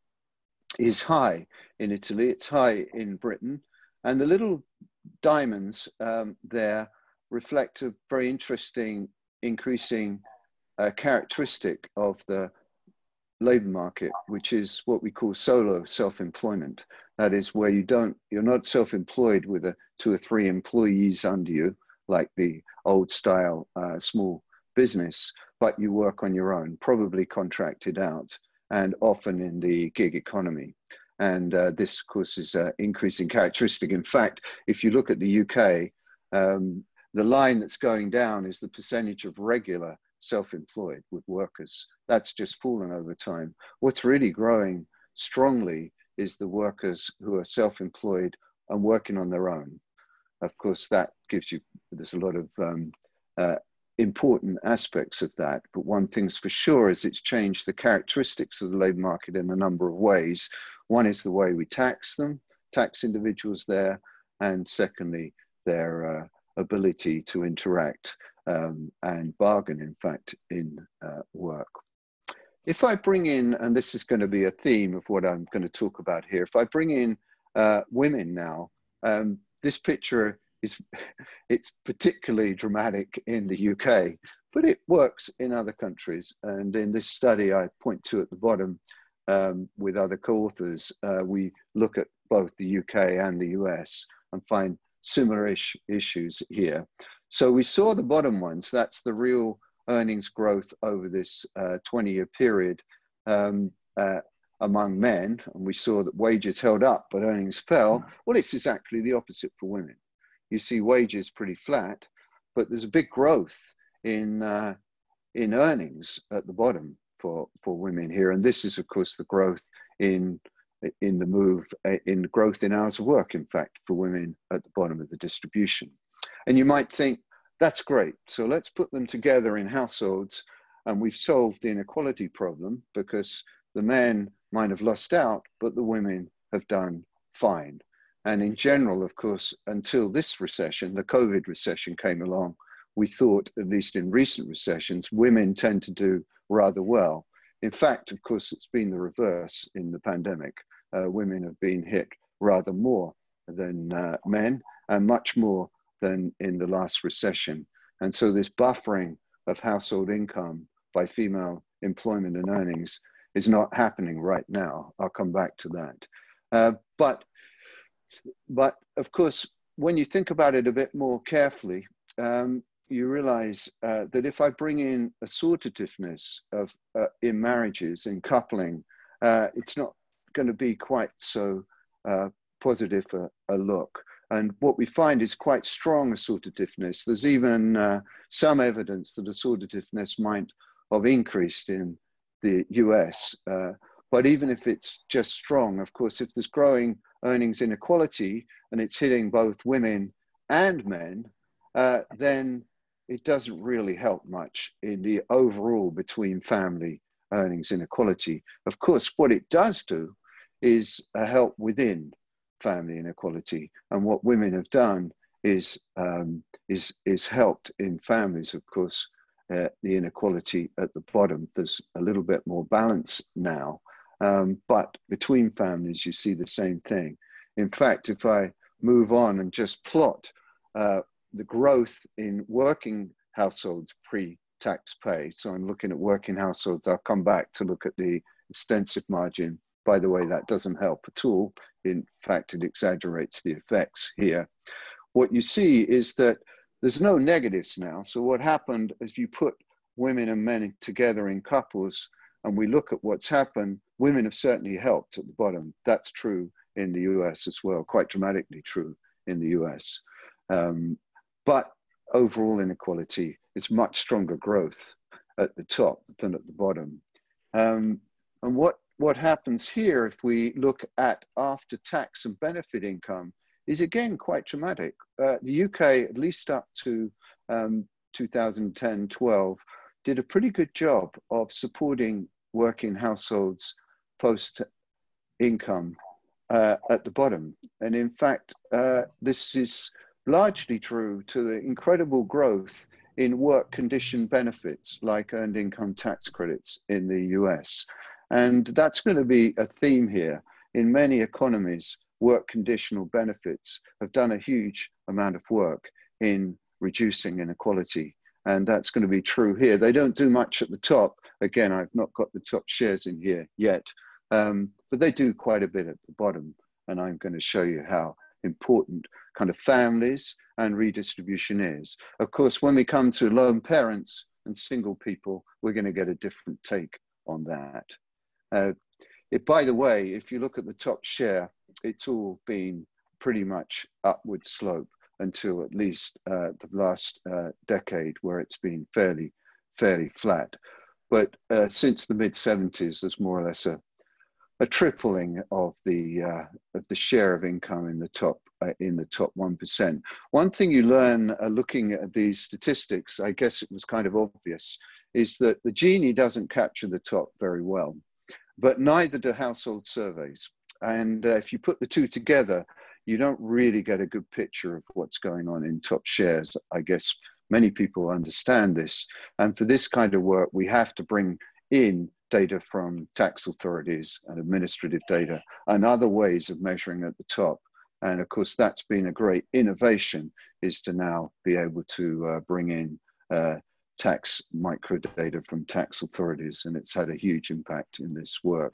is high in Italy. It's high in Britain. And the little diamonds um, there reflect a very interesting increasing uh, characteristic of the labor market, which is what we call solo self-employment. That is where you don't, you're not self-employed with a two or three employees under you, like the old style uh, small business, but you work on your own, probably contracted out, and often in the gig economy. And uh, this, of course, is an increasing characteristic. In fact, if you look at the U K, um, the line that's going down is the percentage of regular self-employed with workers. That's just fallen over time. What's really growing strongly is the workers who are self-employed and working on their own. Of course, that gives you, there's a lot of um, uh, important aspects of that, but one thing's for sure is it's changed the characteristics of the labor market in a number of ways. One is the way we tax them, tax individuals there, and secondly, their uh, ability to interact um, and bargain, in fact, in uh, work. If I bring in, and this is going to be a theme of what I'm going to talk about here, if I bring in uh, women now, um, this picture is, it's particularly dramatic in the U K, but it works in other countries. And in this study I point to at the bottom um, with other co-authors, uh, we look at both the U K and the U S and find similar ish issues here. So we saw the bottom ones, that's the real earnings growth over this uh, twenty year period um, uh, among men, and we saw that wages held up but earnings fell. Well, it's exactly the opposite for women. You see wages pretty flat, but there's a big growth in uh, in earnings at the bottom for for women here, and this is of course the growth in in the move in growth in hours of work, in fact, for women at the bottom of the distribution. And you might think, that's great, so let's put them together in households and we've solved the inequality problem, because the men might have lost out, but the women have done fine. And in general, of course, until this recession, the COVID recession came along, we thought, at least in recent recessions, women tend to do rather well. In fact, of course, it's been the reverse in the pandemic. Uh, women have been hit rather more than uh, men, and much more than in the last recession. And so this buffering of household income by female employment and earnings is not happening right now. I'll come back to that. Uh, but, but of course, when you think about it a bit more carefully, um, you realize uh, that if I bring in assortativeness of uh, in marriages, in coupling, uh, it's not going to be quite so uh, positive a, a look. And what we find is quite strong assortativeness. There's even uh, some evidence that assortativeness might have increased in the U S. Uh, but even if it's just strong, of course, if there's growing earnings inequality and it's hitting both women and men, uh, then it doesn't really help much in the overall between family earnings inequality. Of course, what it does do is a help within family inequality. And what women have done is, um, is, is helped in families, of course, uh, the inequality at the bottom. There's a little bit more balance now, um, but between families, you see the same thing. In fact, if I move on and just plot uh, the growth in working households pre-tax pay. So I'm looking at working households. I'll come back to look at the extensive margin. By the way, that doesn't help at all. In fact, it exaggerates the effects here. What you see is that there's no negatives now. So what happened is you put women and men together in couples and we look at what's happened, women have certainly helped at the bottom. That's true in the U S as well, quite dramatically true in the U S. Um, but overall inequality is much stronger growth at the top than at the bottom. Um, and what, what happens here, if we look at after tax and benefit income, is again quite dramatic. Uh, the U K, at least up to um, two thousand ten twelve, did a pretty good job of supporting working households post income uh, at the bottom. And in fact, uh, this is largely true to the incredible growth in work condition benefits like earned income tax credits in the U S. And that's going to be a theme here. In many economies, work conditional benefits have done a huge amount of work in reducing inequality. And that's going to be true here. They don't do much at the top. Again, I've not got the top shares in here yet, um, but they do quite a bit at the bottom. And I'm going to show you how important kind of families and redistribution is. Of course, when we come to lone parents and single people, we're going to get a different take on that. Uh, it, by the way, if you look at the top share, it's all been pretty much upward slope until at least uh, the last uh, decade, where it's been fairly, fairly flat. But uh, since the mid seventies, there's more or less a, a tripling of the uh, of the share of income in the top uh, in the top one percent. One thing you learn uh, looking at these statistics, I guess it was kind of obvious, is that the Gini doesn't capture the top very well, but neither do household surveys. And uh, if you put the two together, you don't really get a good picture of what's going on in top shares. I guess many people understand this. And for this kind of work, we have to bring in data from tax authorities and administrative data and other ways of measuring at the top. And of course, that's been a great innovation, is to now be able to uh, bring in uh, tax microdata from tax authorities, and it's had a huge impact in this work.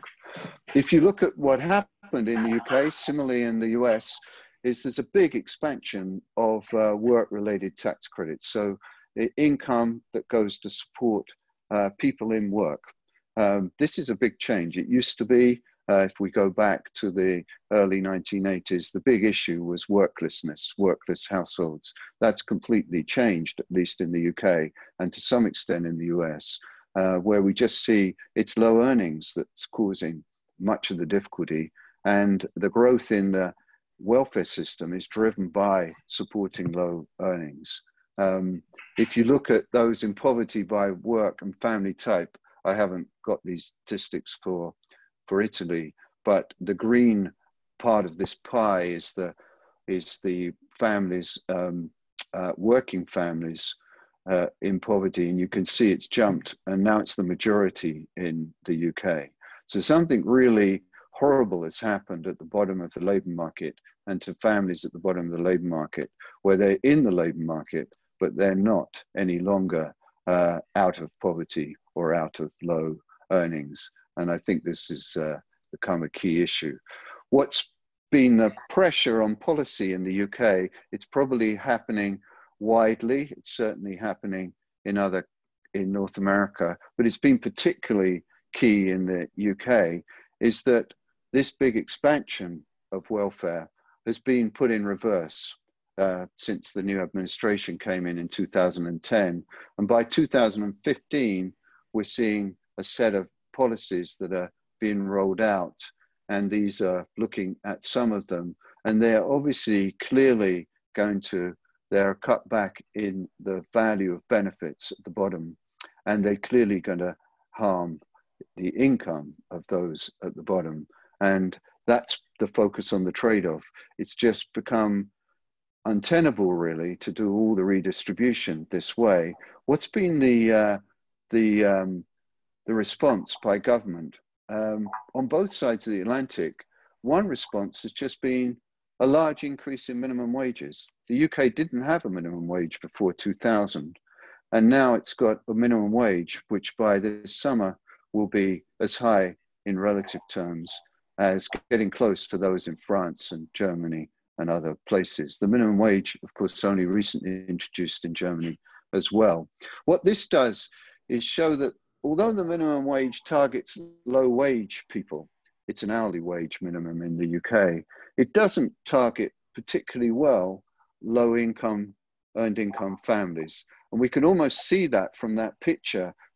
If you look at what happened in the U K, similarly in the U S, is there's a big expansion of uh, work-related tax credits. So the income that goes to support uh, people in work. Um, this is a big change. It used to be, uh, if we go back to the early nineteen eighties, the big issue was worklessness, workless households. That's completely changed, at least in the U K, and to some extent in the U S, uh, where we just see it's low earnings that's causing much of the difficulty, and the growth in the welfare system is driven by supporting low earnings. Um, if you look at those in poverty by work and family type, I haven't got these statistics for, for Italy, but the green part of this pie is the, is the families, um, uh, working families uh, in poverty, and you can see it's jumped, and now it's the majority in the U K. So something really horrible has happened at the bottom of the labour market, and to families at the bottom of the labour market, where they're in the labour market, but they're not any longer uh, out of poverty or out of low earnings. And I think this has uh, become a key issue. What's been the pressure on policy in the U K, it's probably happening widely. It's certainly happening in other, in North America, but it's been particularly key in the U K, is that this big expansion of welfare has been put in reverse uh, since the new administration came in in two thousand ten. And by two thousand fifteen, we're seeing a set of policies that are being rolled out. And these are looking at some of them. And they're obviously clearly going to, they're cut back in the value of benefits at the bottom. And they're clearly going to harm the income of those at the bottom. And that's the focus on the trade-off. It's just become untenable, really, to do all the redistribution this way. What's been the uh, the um, the response by government um, on both sides of the Atlantic? One response has just been a large increase in minimum wages. The U K didn't have a minimum wage before two thousand, and now it's got a minimum wage, which by this summer will be as high in relative terms as getting close to those in France and Germany and other places. The minimum wage, of course, only recently introduced in Germany as well. What this does is show that although the minimum wage targets low wage people, it's an hourly wage minimum in the U K, it doesn't target particularly well low income, earned income families. And we can almost see that from that picture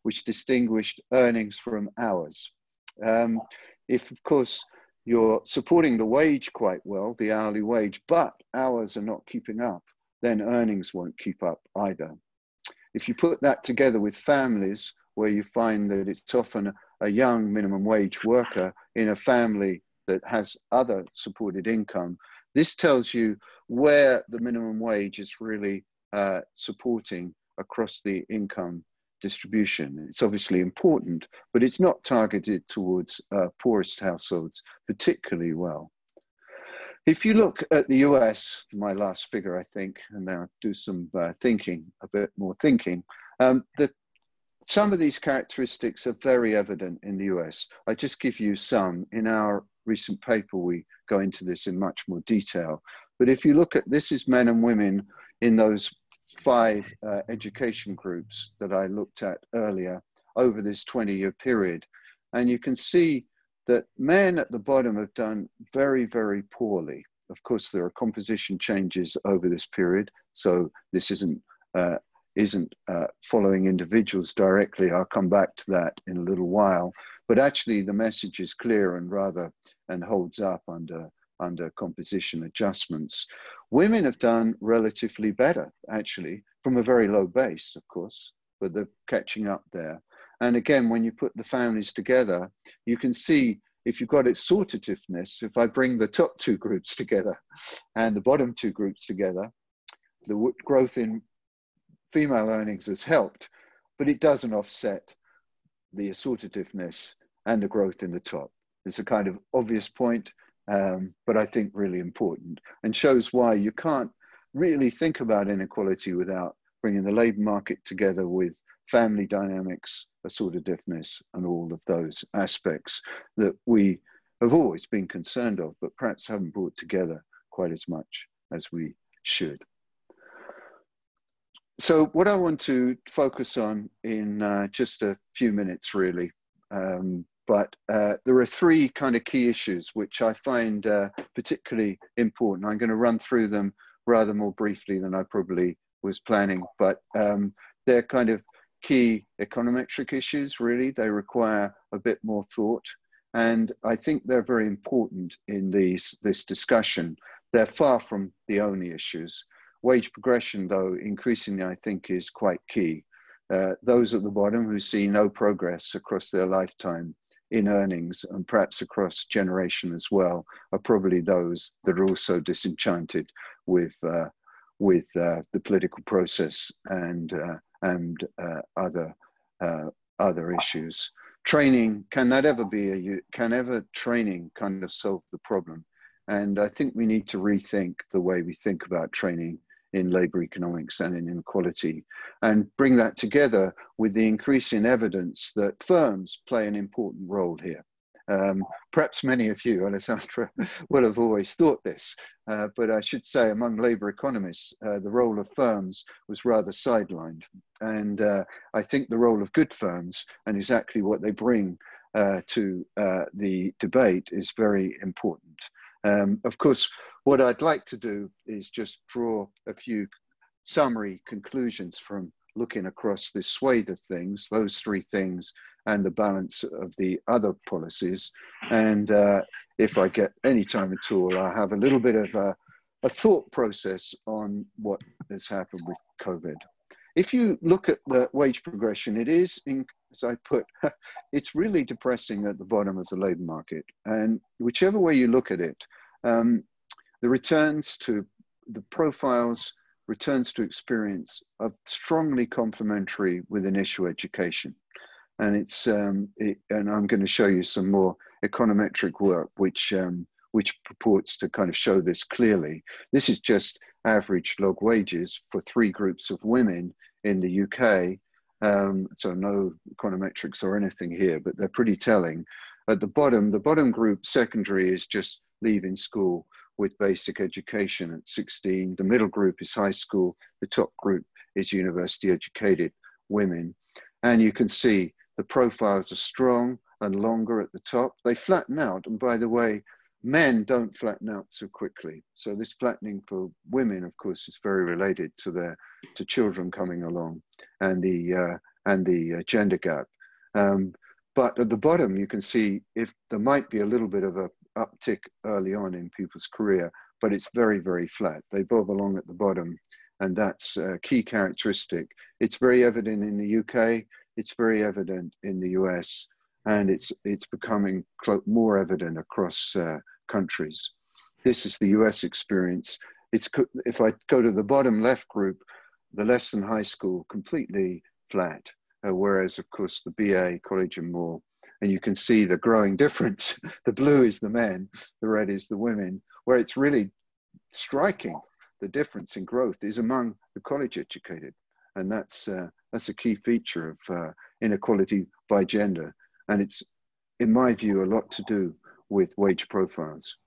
which distinguished earnings from hours. Um, if, of course, you're supporting the wage quite well, the hourly wage, but hours are not keeping up, then earnings won't keep up either. If you put that together with families where you find that it's often a young minimum wage worker in a family that has other supported income, this tells you where the minimum wage is really uh, supporting across the income distribution. It's obviously important, but it's not targeted towards uh, poorest households particularly well. If you look at the U S, my last figure, I think, and now do some uh, thinking, a bit more thinking, um, that some of these characteristics are very evident in the U S. I just give you some. In our recent paper, we go into this in much more detail. But if you look at, this is men and women in those five uh, education groups that I looked at earlier over this twenty year period. And you can see that men at the bottom have done very, very poorly. Of course, there are composition changes over this period, so this isn't, uh, isn't uh, following individuals directly. I'll come back to that in a little while. But actually, the message is clear and rather, and holds up under, under composition adjustments. Women have done relatively better, actually, from a very low base, of course, but they're catching up there. And again, when you put the families together, you can see if you've got its sortativeness, if I bring the top two groups together and the bottom two groups together, the growth in female earnings has helped, but it doesn't offset the assortativeness and the growth in the top. It's a kind of obvious point, um, but I think really important, and shows why you can't really think about inequality without bringing the labor market together with family dynamics, assortativeness, and all of those aspects that we have always been concerned of, but perhaps haven't brought together quite as much as we should. So what I want to focus on in uh, just a few minutes, really, um, but uh, there are three kind of key issues which I find uh, particularly important. I'm going to run through them rather more briefly than I probably was planning, but um, they're kind of key econometric issues, really. They require a bit more thought, and I think they're very important in these, this discussion. They're far from the only issues. Wage progression, though, increasingly, I think, is quite key. Uh, those at the bottom who see no progress across their lifetime in earnings, and perhaps across generation as well, are probably those that are also disenchanted with, uh, with uh, the political process and, uh, and uh, other, uh, other issues. Training, can that ever be a, can ever training kind of solve the problem? And I think we need to rethink the way we think about training in labor economics and in inequality, and bring that together with the increasing evidence that firms play an important role here. Um, perhaps many of you, Alessandra, will have always thought this, uh, but I should say among labor economists, uh, the role of firms was rather sidelined. And uh, I think the role of good firms and exactly what they bring uh, to uh, the debate is very important. Um, of course, what I'd like to do is just draw a few summary conclusions from looking across this swathe of things, those three things, and the balance of the other policies. And uh, if I get any time at all, I'll have a little bit of a, a thought process on what has happened with COVID. If you look at the wage progression, it is, in, as I put, it's really depressing at the bottom of the labor market. And whichever way you look at it, um, the returns to the profiles, returns to experience are strongly complementary with initial education. And it's, um, it, and I'm going to show you some more econometric work, which, um, which purports to kind of show this clearly. This is just average log wages for three groups of women in the U K. Um, so no econometrics or anything here, but they're pretty telling. At the bottom, the bottom group, secondary, is just leaving school with basic education at sixteen. The middle group is high school. The top group is university educated women. And you can see the profiles are strong and longer at the top. They flatten out. And by the way, men don't flatten out so quickly. So this flattening for women, of course, is very related to their to children coming along and the uh, and the uh, gender gap. Um, but at the bottom, you can see if there might be a little bit of a uptick early on in people's career, but it's very, very flat. They bob along at the bottom, and that's a key characteristic. It's very evident in the U K, it's very evident in the U S, and it's, it's becoming more evident across uh, countries. This is the U S experience. It's, if I go to the bottom left group, the less than high school, completely flat, uh, whereas of course the B A, college and more, and you can see the growing difference. The blue is the men, the red is the women, where it's really striking. The difference in growth is among the college educated, and that's, uh, that's a key feature of uh, inequality by gender, and it's, in my view, a lot to do with wage profiles.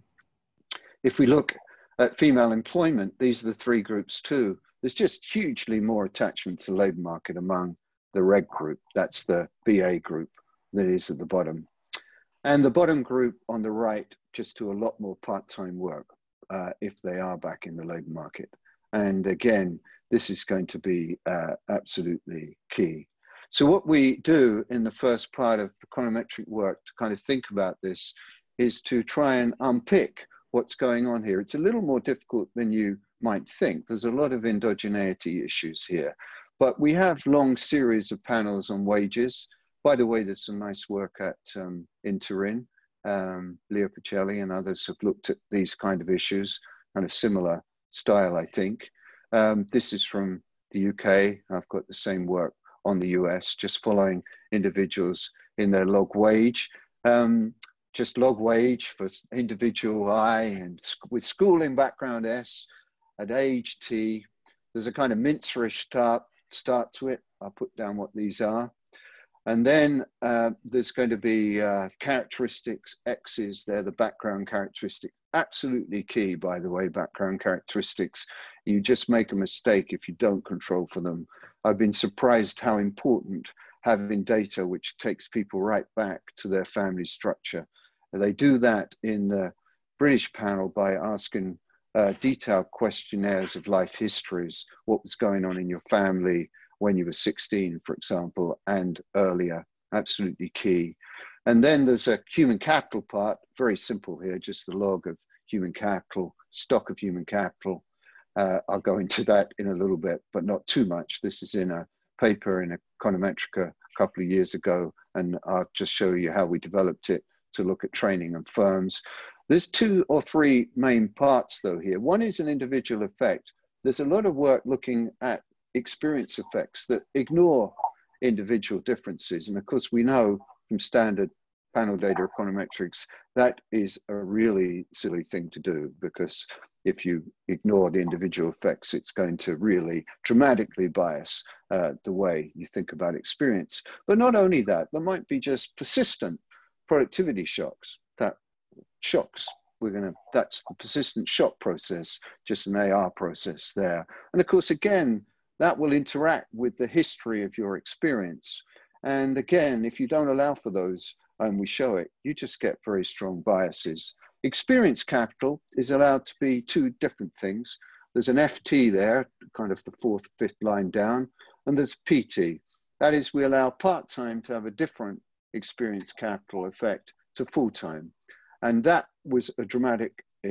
If we look at female employment, these are the three groups too. There's just hugely more attachment to the labour market among the red group, that's the B A group, that is at the bottom. And the bottom group on the right just do a lot more part-time work uh, if they are back in the labour market. And again, this is going to be uh, absolutely key. So what we do in the first part of econometric work to kind of think about this is to try and unpick what's going on here. It's a little more difficult than you might think. There's a lot of endogeneity issues here, but we have long series of panels on wages. By the way, there's some nice work at um, Interin. Um, Leo Pacelli and others have looked at these kind of issues, kind of similar style, I think. Um, this is from the U K. I've got the same work on the U S, just following individuals in their log wage. Um, just log wage for individual I, and with schooling background S, at age T. There's a kind of Mintzerish start, start to it. I'll put down what these are. And then uh, there's going to be uh, characteristics, X's, they're the background characteristic. Absolutely key, by the way, background characteristics. You just make a mistake if you don't control for them. I've been surprised how important having data which takes people right back to their family structure. And they do that in the British panel by asking uh, detailed questionnaires of life histories, what was going on in your family when you were sixteen, for example, and earlier, absolutely key. And then there's a human capital part, very simple here, just the log of human capital, stock of human capital. Uh, I'll go into that in a little bit, but not too much. This is in a paper in Econometrica a couple of years ago, and I'll just show you how we developed it to look at training and firms. There's two or three main parts though here. One is an individual effect. There's a lot of work looking at experience effects that ignore individual differences. And of course, we know from standard panel data econometrics, that is a really silly thing to do, because if you ignore the individual effects, it's going to really dramatically bias uh, the way you think about experience. But not only that, there might be just persistent productivity shocks. That shocks, we're gonna, that's the persistent shock process, just an A R process there. And of course, again, that will interact with the history of your experience. And again, if you don't allow for those, and we show it, you just get very strong biases. Experience capital is allowed to be two different things. There's an F T there, kind of the fourth, fifth line down, and there's P T. That is, we allow part-time to have a different experience capital effect to full-time. And that was a dramatic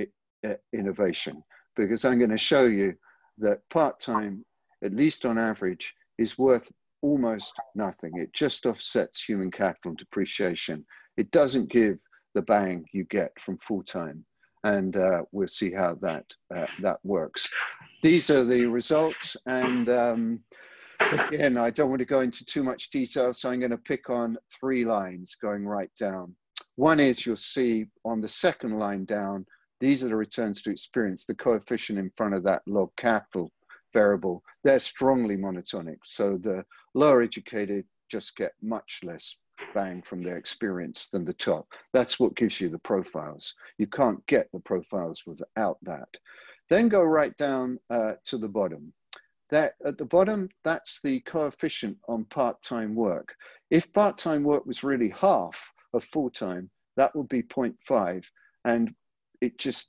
innovation, because I'm going to show you that part-time, at least on average, is worth almost nothing. It just offsets human capital depreciation. It doesn't give the bang you get from full-time. And uh, we'll see how that, uh, that works. These are the results. And um, again, I don't want to go into too much detail, so I'm going to pick on three lines going right down. One is, you'll see on the second line down, these are the returns to experience, the coefficient in front of that log capital variable. They're strongly monotonic. So the lower educated just get much less bang from their experience than the top. That's what gives you the profiles. You can't get the profiles without that. Then go right down uh, to the bottom. That, at the bottom, that's the coefficient on part-time work. If part-time work was really half of full-time, that would be zero point five. And it just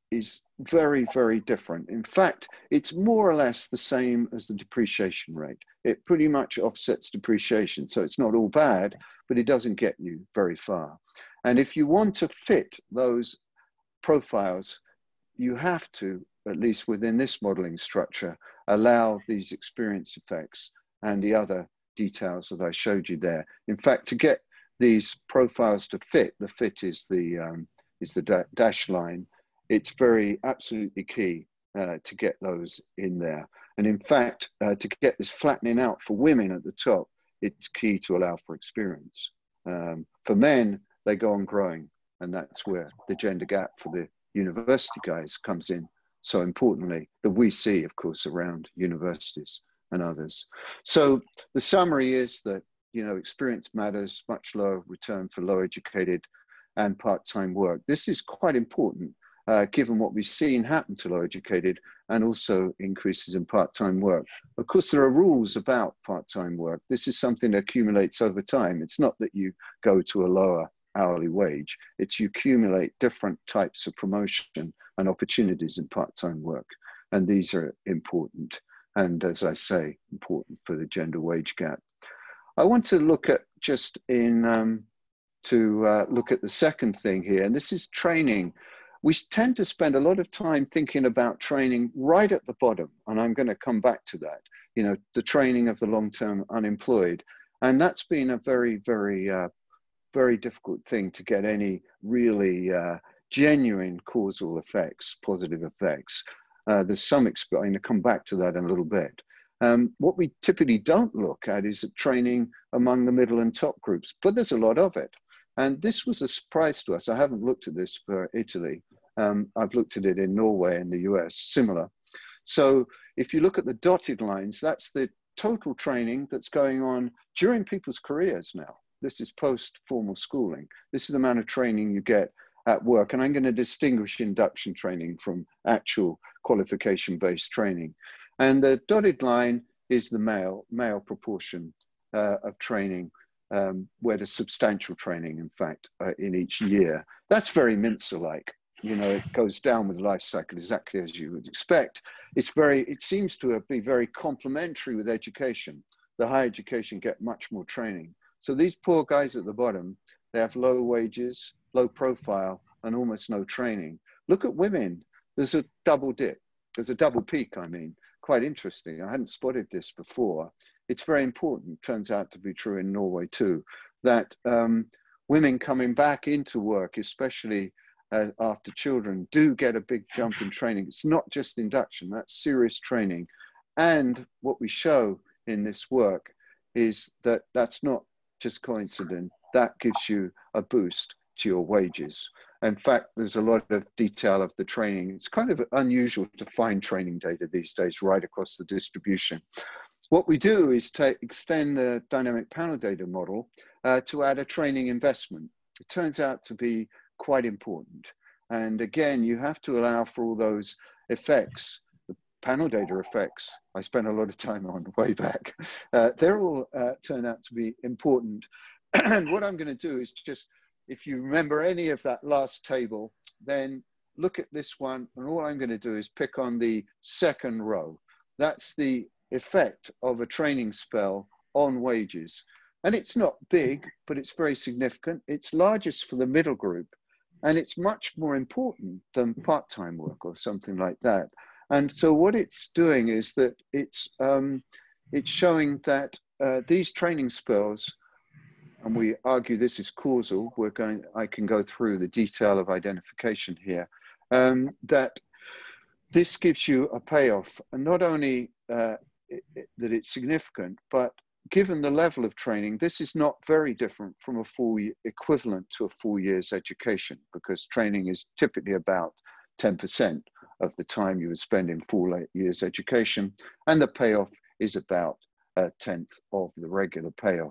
is very, very different. In fact, it's more or less the same as the depreciation rate. It pretty much offsets depreciation. So it's not all bad, but it doesn't get you very far. And if you want to fit those profiles, you have to, at least within this modeling structure, allow these experience effects and the other details that I showed you there. In fact, to get these profiles to fit, the fit is the, um, is the da dash line. It's very absolutely key uh, to get those in there. And in fact, uh, to get this flattening out for women at the top, it's key to allow for experience. Um, for men, they go on growing, and that's where the gender gap for the university guys comes in so importantly, that we see, of course, around universities and others. So the summary is that, you know, experience matters, much lower return for low educated and part-time work. This is quite important. Uh, given what we've seen happen to low educated and also increases in part-time work. Of course, there are rules about part-time work. This is something that accumulates over time. It's not that you go to a lower hourly wage, it's you accumulate different types of promotion and opportunities in part-time work. And these are important. And as I say, important for the gender wage gap. I want to look at just in, um, to uh, look at the second thing here, and this is training. We tend to spend a lot of time thinking about training right at the bottom, and I'm going to come back to that, you know, the training of the long-term unemployed. And that's been a very, very, uh, very difficult thing to get any really uh, genuine causal effects, positive effects. Uh, there's some, I'm going to come back to that in a little bit. Um, what we typically don't look at is training among the middle and top groups, but there's a lot of it. And this was a surprise to us. I haven't looked at this for Italy. Um, I've looked at it in Norway and the U S, similar. So if you look at the dotted lines, that's the total training that's going on during people's careers now. This is post-formal schooling. This is the amount of training you get at work. And I'm going to distinguish induction training from actual qualification-based training. And the dotted line is the male, male proportion uh, of training. Um, where there's substantial training, in fact, uh, in each year. That's very Mincer-like. You know, it goes down with the life cycle exactly as you would expect. It's very, it seems to be very complementary with education. The higher education get much more training. So these poor guys at the bottom, they have low wages, low profile, and almost no training. Look at women. There's a double dip. There's a double peak, I mean. Quite interesting. I hadn't spotted this before. It's very important, turns out to be true in Norway too, that um, women coming back into work, especially uh, after children, do get a big jump in training. It's not just induction, that's serious training. And what we show in this work is that that's not just coincident, that gives you a boost to your wages. In fact, there's a lot of detail of the training. It's kind of unusual to find training data these days right across the distribution. What we do is take, extend the dynamic panel data model uh, to add a training investment. It turns out to be quite important. And again, you have to allow for all those effects, the panel data effects I spent a lot of time on way back. Uh, they're all uh, turn out to be important. And what I'm going to do is just, if you remember any of that last table, then look at this one. And all I'm going to do is pick on the second row. That's the effect of a training spell on wages. And it's not big, but it's very significant. It's largest for the middle group, and it's much more important than part-time work or something like that. And so what it's doing is that it's, um, it's showing that uh, these training spells, and we argue this is causal, we're going, I can go through the detail of identification here, um, that this gives you a payoff, and not only uh, it, it, that it's significant, but given the level of training, this is not very different from a full equivalent to a full year's education, because training is typically about ten percent of the time you would spend in full year's education, and the payoff is about a tenth of the regular payoff.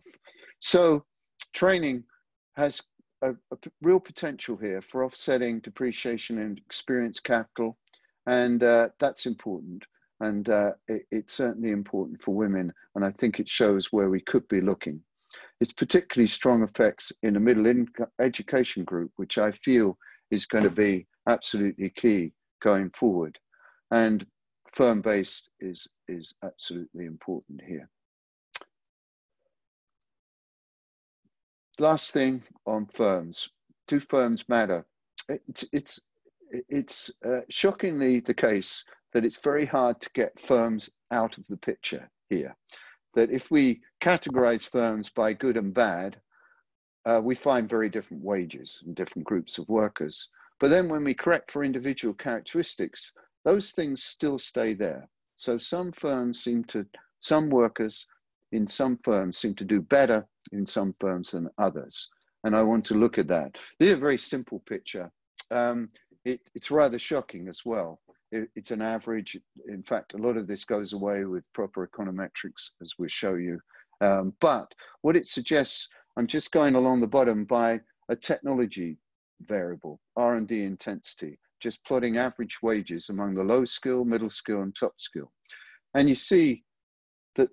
So training has a, a real potential here for offsetting depreciation and experience capital, and uh, that's important. And uh, it, it's certainly important for women, and I think it shows where we could be looking. It's particularly strong effects in a middle income education group, which I feel is going to be absolutely key going forward. And firm-based is, is absolutely important here. Last thing on firms. Do firms matter? It's, it's, it's uh, shockingly the case that it's very hard to get firms out of the picture here. That if we categorize firms by good and bad, uh, we find very different wages and different groups of workers. But then when we correct for individual characteristics, those things still stay there. So some firms seem to, some workers in some firms seem to do better in some firms than others. And I want to look at that. This is a very simple picture. Um, it, it's rather shocking as well. It, it's an average. In fact, a lot of this goes away with proper econometrics, as we'll show you. Um, but what it suggests, I'm just going along the bottom by a technology variable, R and D intensity, just plotting average wages among the low skill, middle skill, and top skill. And you see that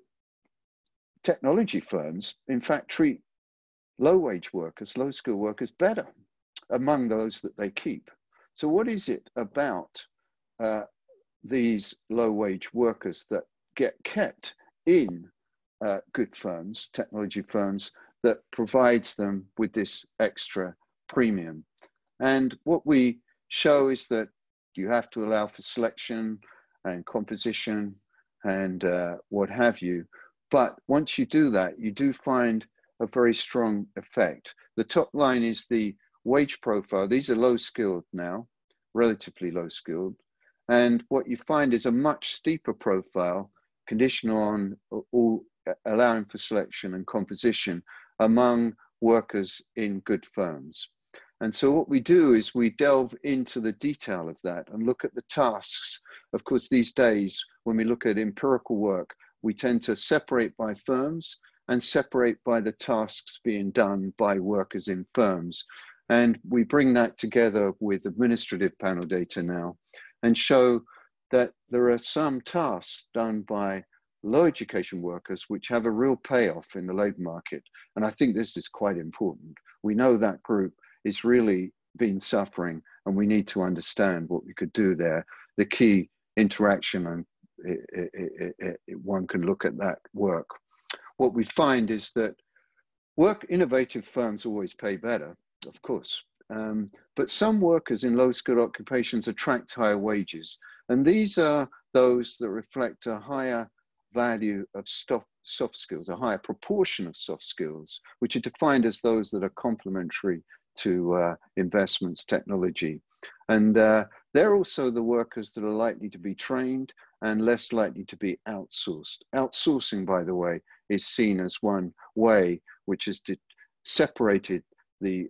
technology firms, in fact, treat low wage workers, low skill workers better among those that they keep. So what is it about uh, these low wage workers that get kept in uh, good firms, technology firms, that provides them with this extra premium? And what we show is that you have to allow for selection and composition and uh, what have you. But once you do that, you do find a very strong effect. The top line is the wage profile. These are low skilled now, relatively low skilled. And what you find is a much steeper profile, conditional on all, allowing for selection and composition among workers in good firms. And so what we do is we delve into the detail of that and look at the tasks. Of course, these days, when we look at empirical work, we tend to separate by firms and separate by the tasks being done by workers in firms. And we bring that together with administrative panel data now and show that there are some tasks done by low education workers which have a real payoff in the labor market. And I think this is quite important. We know that group is really been suffering, and we need to understand what we could do there. The key interaction, and it, it, it, it, one can look at that work. What we find is that work innovative firms always pay better, of course, um, but some workers in low-skilled occupations attract higher wages, and these are those that reflect a higher value of soft, soft skills, a higher proportion of soft skills, which are defined as those that are complementary to uh, investments, technology. And uh, they're also the workers that are likely to be trained and less likely to be outsourced. Outsourcing, by the way, is seen as one way which has separated the,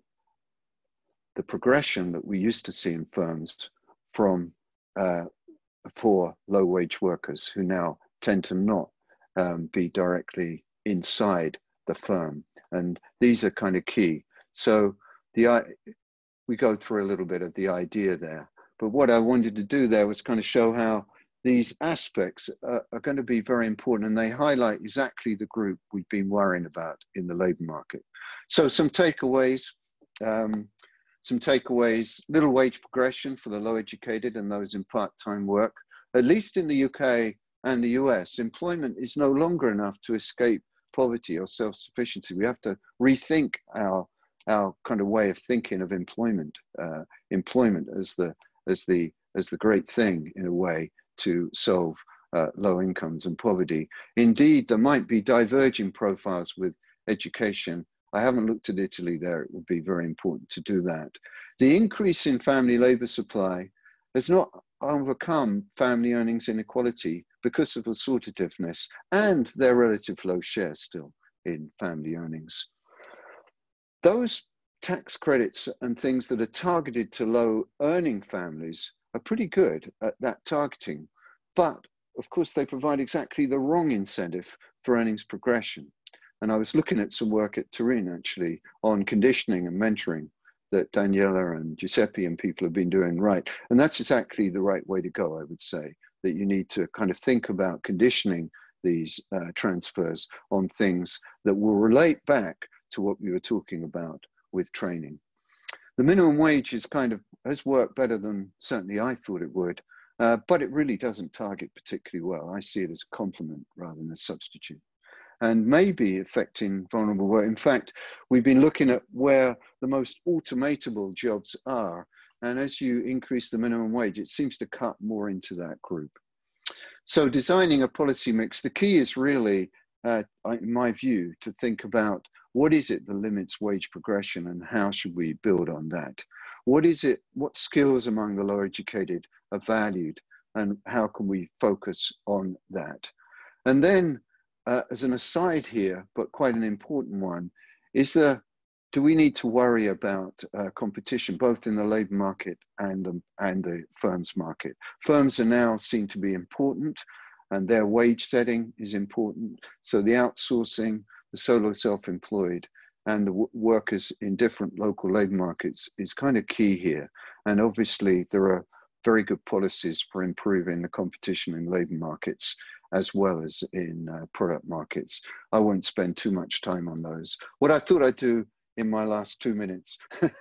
the progression that we used to see in firms from uh, for low wage workers who now tend to not um, be directly inside the firm. And these are kind of key. So the we go through a little bit of the idea there, but what I wanted to do there was kind of show how these aspects are, are going to be very important, and they highlight exactly the group we've been worrying about in the labor market. So some takeaways, um, some takeaways, little wage progression for the low educated and those in part-time work. At least in the U K and the U S, employment is no longer enough to escape poverty or self-sufficiency. We have to rethink our our kind of way of thinking of employment, uh, employment as the as the as the great thing in a way to solve uh, low incomes and poverty. Indeed, there might be diverging profiles with education. I haven't looked at Italy there. It would be very important to do that. The increase in family labor supply has not overcome family earnings inequality because of assortativeness and their relative low share still in family earnings. Those tax credits and things that are targeted to low earning families are pretty good at that targeting, but of course they provide exactly the wrong incentive for earnings progression. And I was looking at some work at Turin actually on conditioning and mentoring that Daniela and Giuseppe and people have been doing right. And that's exactly the right way to go, I would say, that you need to kind of think about conditioning these uh, transfers on things that will relate back to what we were talking about with training. The minimum wage is kind of has worked better than certainly I thought it would, uh, but it really doesn't target particularly well. I see it as a complement rather than a substitute, and maybe affecting vulnerable work. In fact, we've been looking at where the most automatable jobs are, and as you increase the minimum wage, it seems to cut more into that group. So designing a policy mix, the key is really, uh, in my view, to think about what is it that limits wage progression and how should we build on that? What is it, what skills among the lower educated are valued and how can we focus on that? And then uh, as an aside here, but quite an important one, is the, do we need to worry about uh, competition, both in the labor market and, um, and the firms market? Firms are now seen to be important and their wage setting is important. So the outsourcing, the solo self-employed and the w workers in different local labor markets is kind of key here. And obviously there are very good policies for improving the competition in labor markets as well as in uh, product markets. I won't spend too much time on those. What I thought I'd do in my last two minutes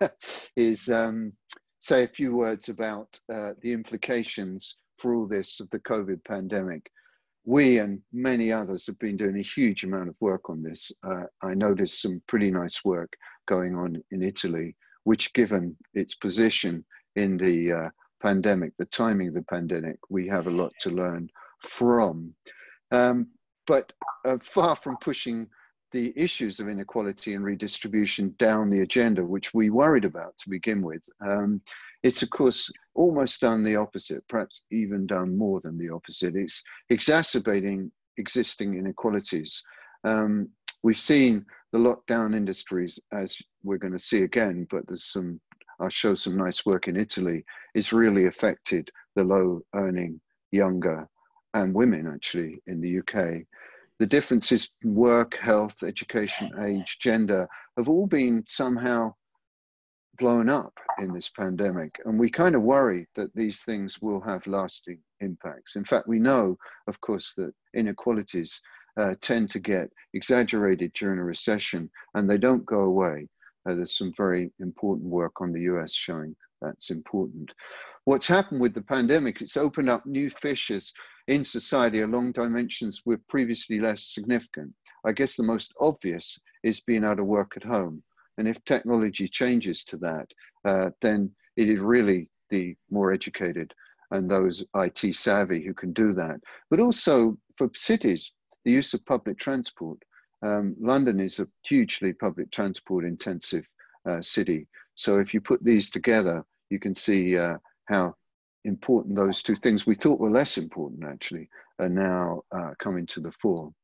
is um, say a few words about uh, the implications for all this of the COVID pandemic. We and many others have been doing a huge amount of work on this. Uh, I noticed some pretty nice work going on in Italy, which given its position in the uh, pandemic, the timing of the pandemic, we have a lot to learn from. Um, but uh, far from pushing the issues of inequality and redistribution down the agenda, which we worried about to begin with, um, it's of course almost done the opposite, perhaps even done more than the opposite. It's exacerbating existing inequalities. Um, we've seen the lockdown industries, as we're going to see again, but there's some, I'll show some nice work in Italy, it's really affected the low earning younger and women actually in the U K. The differences in work, health, education, age, gender have all been somehow blown up in this pandemic. And we kind of worry that these things will have lasting impacts. In fact, we know, of course, that inequalities uh, tend to get exaggerated during a recession and they don't go away. Uh, there's some very important work on the U S showing that's important. What's happened with the pandemic, it's opened up new fissures in society along dimensions were previously less significant. I guess the most obvious is being able to work at home. And if technology changes to that, uh, then it is really the more educated and those I T savvy who can do that. But also for cities, the use of public transport. Um, London is a hugely public transport intensive uh, city. So if you put these together, you can see uh, how important those two things we thought were less important actually are now uh, coming to the fore.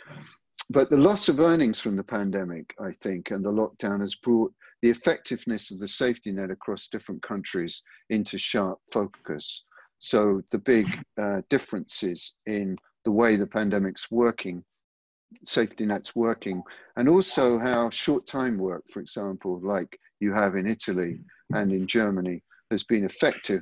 But the loss of earnings from the pandemic, I think, and the lockdown has brought the effectiveness of the safety net across different countries into sharp focus. So the big uh, differences in the way the pandemic's working, safety net's working, and also how short time work, for example, like you have in Italy and in Germany, has been effective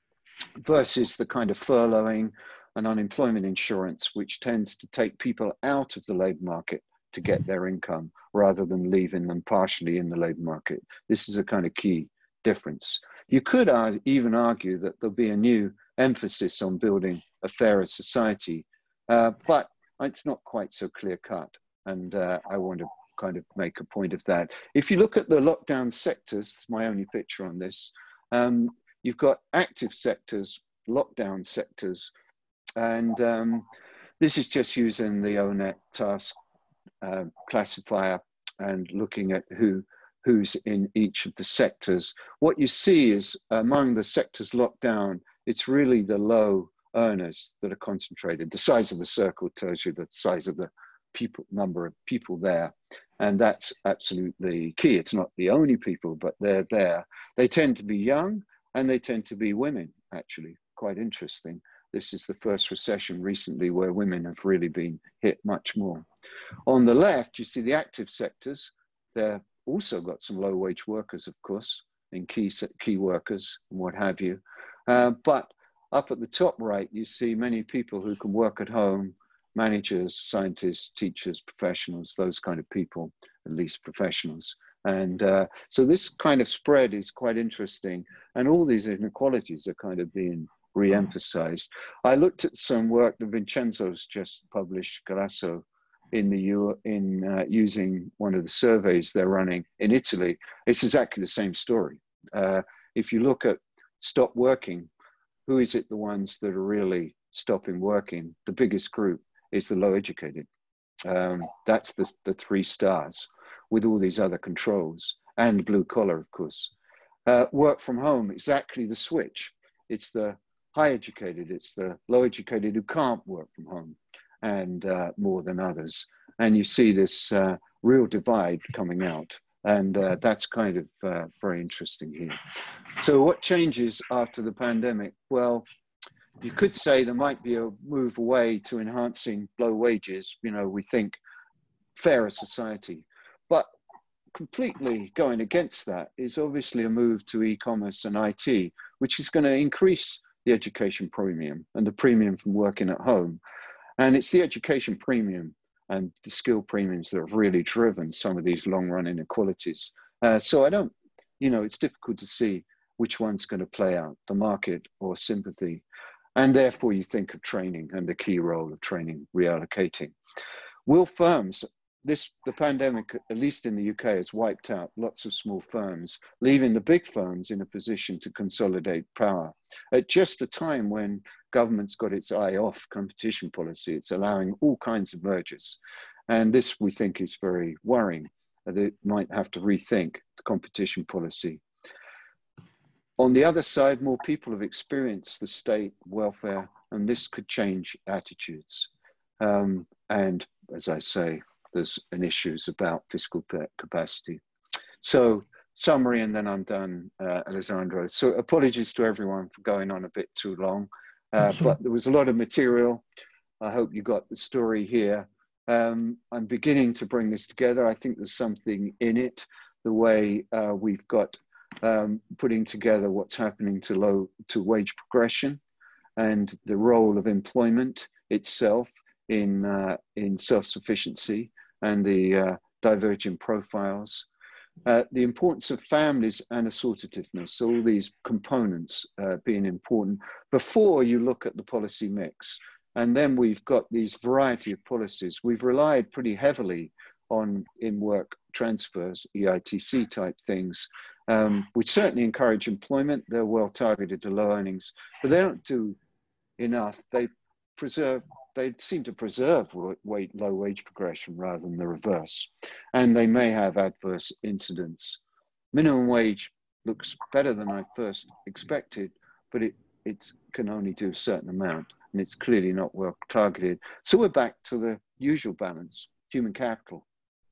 versus the kind of furloughing and unemployment insurance, which tends to take people out of the labour market to get their income rather than leaving them partially in the labour market. This is a kind of key difference. You could uh, even argue that there'll be a new emphasis on building a fairer society, uh, but it's not quite so clear cut. And uh, I want to kind of make a point of that. If you look at the lockdown sectors, my only picture on this, um, you've got active sectors, lockdown sectors, and um, this is just using the O net task uh, classifier and looking at who who's in each of the sectors. What you see is among the sectors locked down, it's really the low earners that are concentrated. The size of the circle tells you the size of the people, number of people there. And that's absolutely key. It's not the only people, but they're there. They tend to be young and they tend to be women, actually, quite interesting. This is the first recession recently where women have really been hit much more. On the left, you see the active sectors. They're also got some low wage workers, of course, in key, key workers and what have you. Uh, but up at the top right, you see many people who can work at home, managers, scientists, teachers, professionals, those kind of people, at least professionals. And uh, so this kind of spread is quite interesting. And all these inequalities are kind of being re-emphasized. I looked at some work that Vincenzo's just published, Grasso, in the U in uh, using one of the surveys they're running in Italy. It's exactly the same story. Uh, if you look at stop working, who is it the ones that are really stopping working? The biggest group is the low educated. Um, that's the, the three stars with all these other controls, and blue collar, of course. Uh, work from home, exactly the switch. It's the high educated, it's the low educated who can't work from home, and uh, more than others. And you see this uh, real divide coming out. And uh, that's kind of uh, very interesting here. So what changes after the pandemic? Well, you could say there might be a move away to enhancing low wages. You know, we think fairer society, but completely going against that is obviously a move to e-commerce and I T, which is going to increase the education premium and the premium from working at home. And it's the education premium and the skill premiums that have really driven some of these long-run inequalities. Uh, so I don't, you know, it's difficult to see which one's going to play out, the market or sympathy. And therefore you think of training and the key role of training reallocating. Will firms, this, the pandemic, at least in the U K, has wiped out lots of small firms, leaving the big firms in a position to consolidate power. At just a time when government's got its eye off competition policy, it's allowing all kinds of mergers. And this, we think, is very worrying. They might have to rethink the competition policy. On the other side, more people have experienced the state welfare, and this could change attitudes. Um, and as I say, there's an issues about fiscal capacity. So summary, and then I'm done, uh, Alessandro. So apologies to everyone for going on a bit too long, uh, but there was a lot of material. I hope you got the story here. Um, I'm beginning to bring this together. I think there's something in it, the way uh, we've got um, putting together what's happening to low to wage progression and the role of employment itself in, uh, in self-sufficiency and the uh, divergent profiles. Uh, the importance of families and assortativeness, all these components uh, being important before you look at the policy mix. And then we've got these variety of policies. We've relied pretty heavily on in-work transfers, E I T C type things, um, which certainly encourage employment. They're well targeted to low earnings, but they don't do enough. They preserve, they seem to preserve weight, low wage progression rather than the reverse. And they may have adverse incidents. Minimum wage looks better than I first expected, but it it's, can only do a certain amount, and it's clearly not well targeted. So we're back to the usual balance, human capital.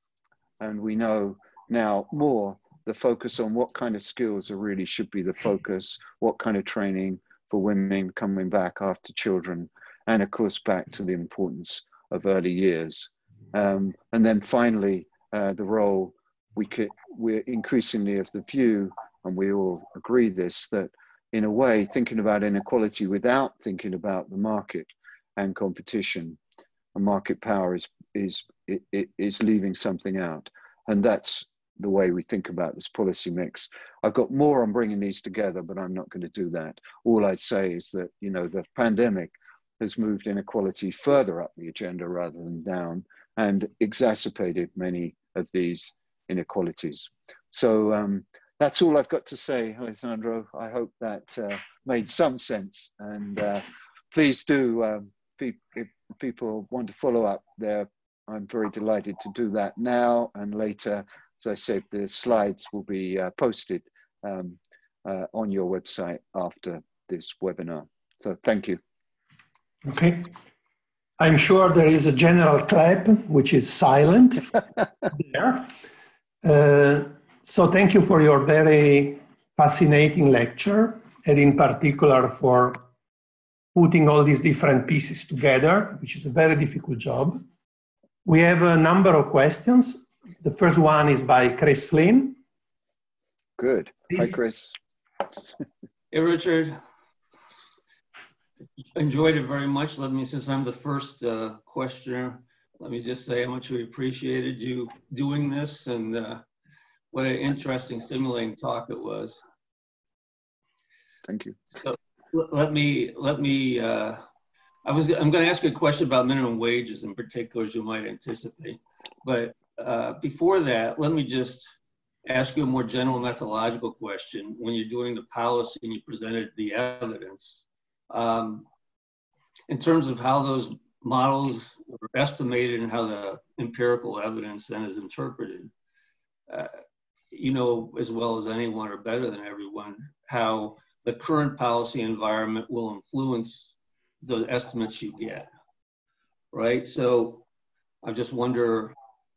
And we know now more the focus on what kind of skills are really should be the focus, what kind of training for women coming back after children, and of course back to the importance of early years. Um, and then finally, uh, the role, we could, we're increasingly of the view, and we all agree this, that in a way, thinking about inequality without thinking about the market and competition and market power is, is, it, it is leaving something out. And that's the way we think about this policy mix. I've got more on bringing these together, but I'm not going to do that. All I'd say is that, you know, the pandemic has moved inequality further up the agenda rather than down, and exacerbated many of these inequalities. So um, that's all I've got to say, Alessandro. I hope that uh, made some sense. And uh, please do, um, pe if people want to follow up there, I'm very delighted to do that now and later. As I said, the slides will be uh, posted um, uh, on your website after this webinar. So thank you. Okay. I'm sure there is a general clap, which is silent there. Uh, so thank you for your very fascinating lecture, and in particular for putting all these different pieces together, which is a very difficult job. We have a number of questions. The first one is by Chris Flynn. Good. Please. Hi, Chris. Hey, Richard. Enjoyed it very much. Let me, since I'm the first uh, questioner, let me just say how much we appreciated you doing this, and uh, what an interesting, stimulating talk it was. Thank you. So let me, let me, uh, I was, I'm going to ask you a question about minimum wages in particular, as you might anticipate. But uh, before that, let me just ask you a more general methodological question. When you're doing the policy and you presented the evidence, um, in terms of how those models are estimated and how the empirical evidence then is interpreted, uh, you know as well as anyone or better than everyone how the current policy environment will influence the estimates you get, right? So I just wonder,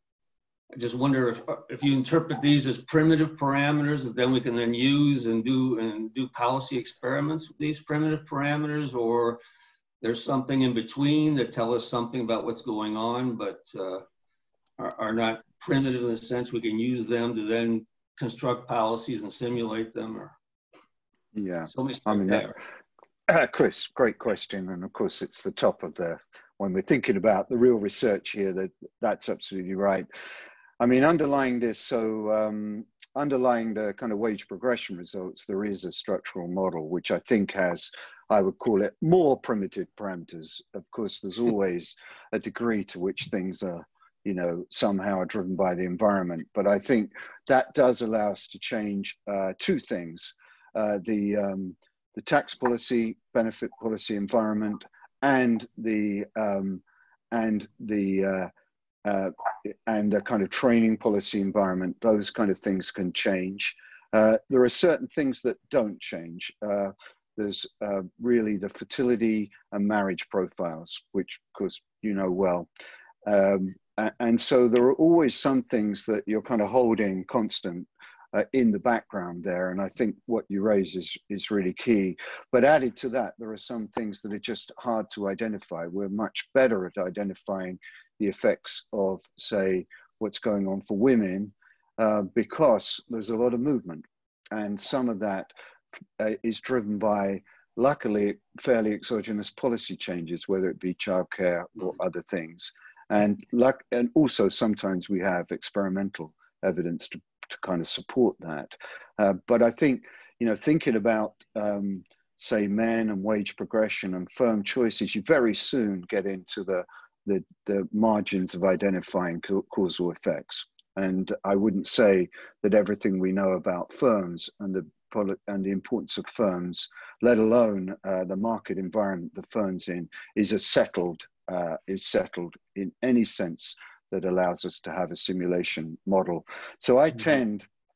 I just wonder if, if you interpret these as primitive parameters that then we can then use and do and do policy experiments with these primitive parameters, or there's something in between that tell us something about what's going on, but uh, are, are not primitive in the sense we can use them to then construct policies and simulate them. Or yeah, so I mean, that, uh, Chris, great question, and of course it's the top of the when we're thinking about the real research here. That that's absolutely right. I mean, underlying this, so um, underlying the kind of wage progression results, there is a structural model, which I think has, I would call it, more primitive parameters. Of course, there's always a degree to which things are, you know, somehow are driven by the environment. But I think that does allow us to change uh, two things, uh, the, um, the tax policy, benefit policy environment, and the, um, and the, uh, Uh, and the kind of training policy environment. Those kind of things can change. Uh, there are certain things that don't change. Uh, there's uh, really the fertility and marriage profiles, which of course you know well. Um, and so there are always some things that you're kind of holding constant uh, in the background there. And I think what you raise is, is really key. But added to that, there are some things that are just hard to identify. We're much better at identifying the effects of, say, what's going on for women, uh, because there's a lot of movement. And some of that uh, is driven by, luckily, fairly exogenous policy changes, whether it be childcare or other things. And, luck and also sometimes we have experimental evidence to, to kind of support that. Uh, but I think, you know, thinking about, um, say, men and wage progression and firm choices, you very soon get into the The, the margins of identifying causal effects. And I wouldn't say that everything we know about firms and the, and the importance of firms, let alone uh, the market environment the firms in, is as settled, uh, is settled in any sense that allows us to have a simulation model. So I mm-hmm. tend,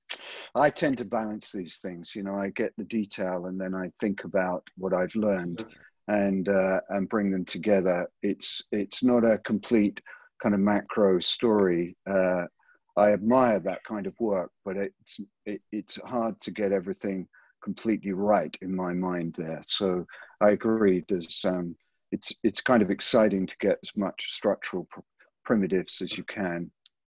I tend to balance these things. You know, I get the detail and then I think about what I've learned. and uh, and bring them together. It's it's not a complete kind of macro story. Uh, I admire that kind of work, but it's it, it's hard to get everything completely right in my mind there. So I agree. There's um, it's it's kind of exciting to get as much structural pr primitives as you can.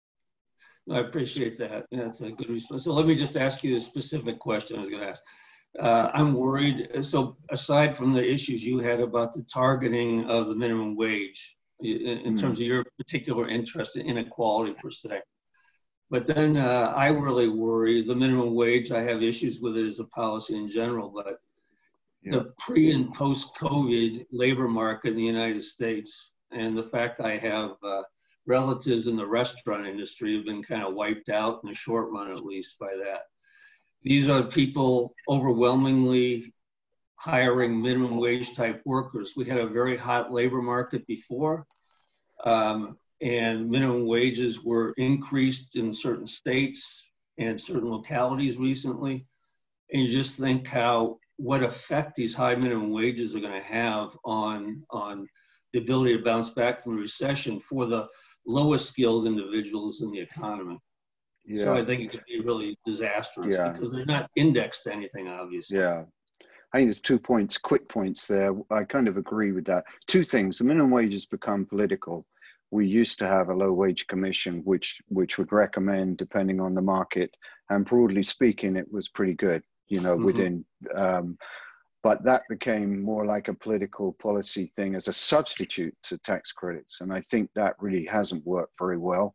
I appreciate that. That's a good response. So let me just ask you a specific question I was going to ask. Uh, I'm worried. So aside from the issues you had about the targeting of the minimum wage, in, in mm. terms of your particular interest in inequality per se, but then uh, I really worry the minimum wage. I have issues with it as a policy in general, but yeah. the pre and post COVID labor market in the United States, and the fact I have uh, relatives in the restaurant industry have been kind of wiped out in the short run, at least, by that. These are people overwhelmingly hiring minimum wage type workers. We had a very hot labor market before, um, and minimum wages were increased in certain states and certain localities recently. And you just think how, what effect these high minimum wages are going to have on, on the ability to bounce back from the recession for the lowest skilled individuals in the economy. Yeah. So I think it could be really disastrous yeah. because they're not indexed to anything, obviously. Yeah. I think there's two points, quick points there. I kind of agree with that. Two things. The minimum wage has become political. We used to have a low wage commission, which, which would recommend, depending on the market, and broadly speaking, it was pretty good, you know, mm-hmm. within, um, but that became more like a political policy thing as a substitute to tax credits. And I think that really hasn't worked very well.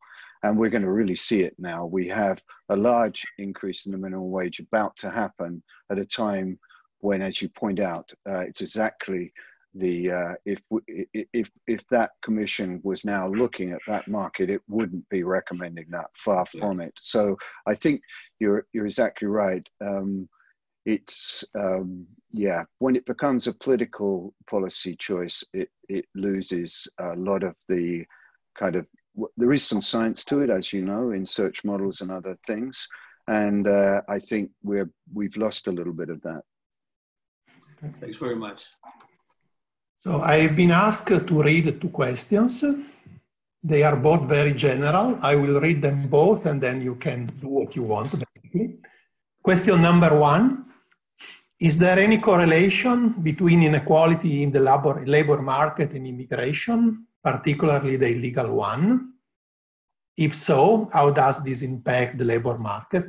and we're going to really see it now. We have a large increase in the minimum wage about to happen at a time when, as you point out, uh, it's exactly the, uh, if, if, if that commission was now looking at that market, it wouldn't be recommending that, far from it. So I think you're, you're exactly right. Um, it's, um, yeah, when it becomes a political policy choice, it, it loses a lot of the kind of, there is some science to it, as you know, in search models and other things. And uh, I think we're, we've lost a little bit of that. Thanks very much. So I've been asked to read two questions. They are both very general. I will read them both and then you can do what you want, basically. Question number one, is there any correlation between inequality in the labor, labor market and immigration, particularly the illegal one? If so, how does this impact the labor market?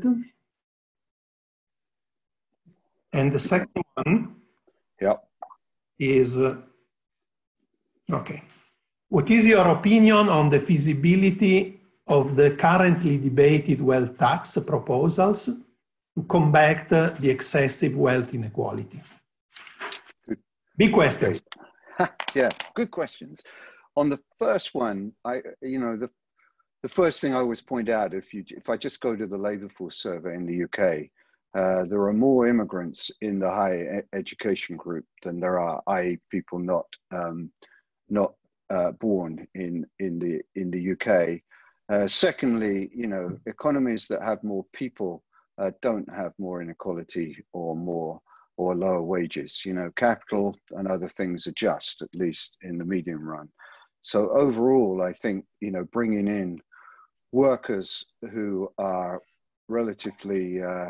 And the second one yep. is, uh, okay. What is your opinion on the feasibility of the currently debated wealth tax proposals to combat uh, the excessive wealth inequality? Good. Big questions. Yeah, good questions. On the first one, I, you know, the, the first thing I always point out, if you, if I just go to the labor force survey in the U K, uh, there are more immigrants in the higher e education group than there are, that is people not, um, not uh, born in, in, the, in the U K. Uh, secondly, you know, economies that have more people uh, don't have more inequality or more or lower wages. You know, capital and other things adjust, at least in the medium run. So overall, I think, you know, bringing in workers who are relatively, uh,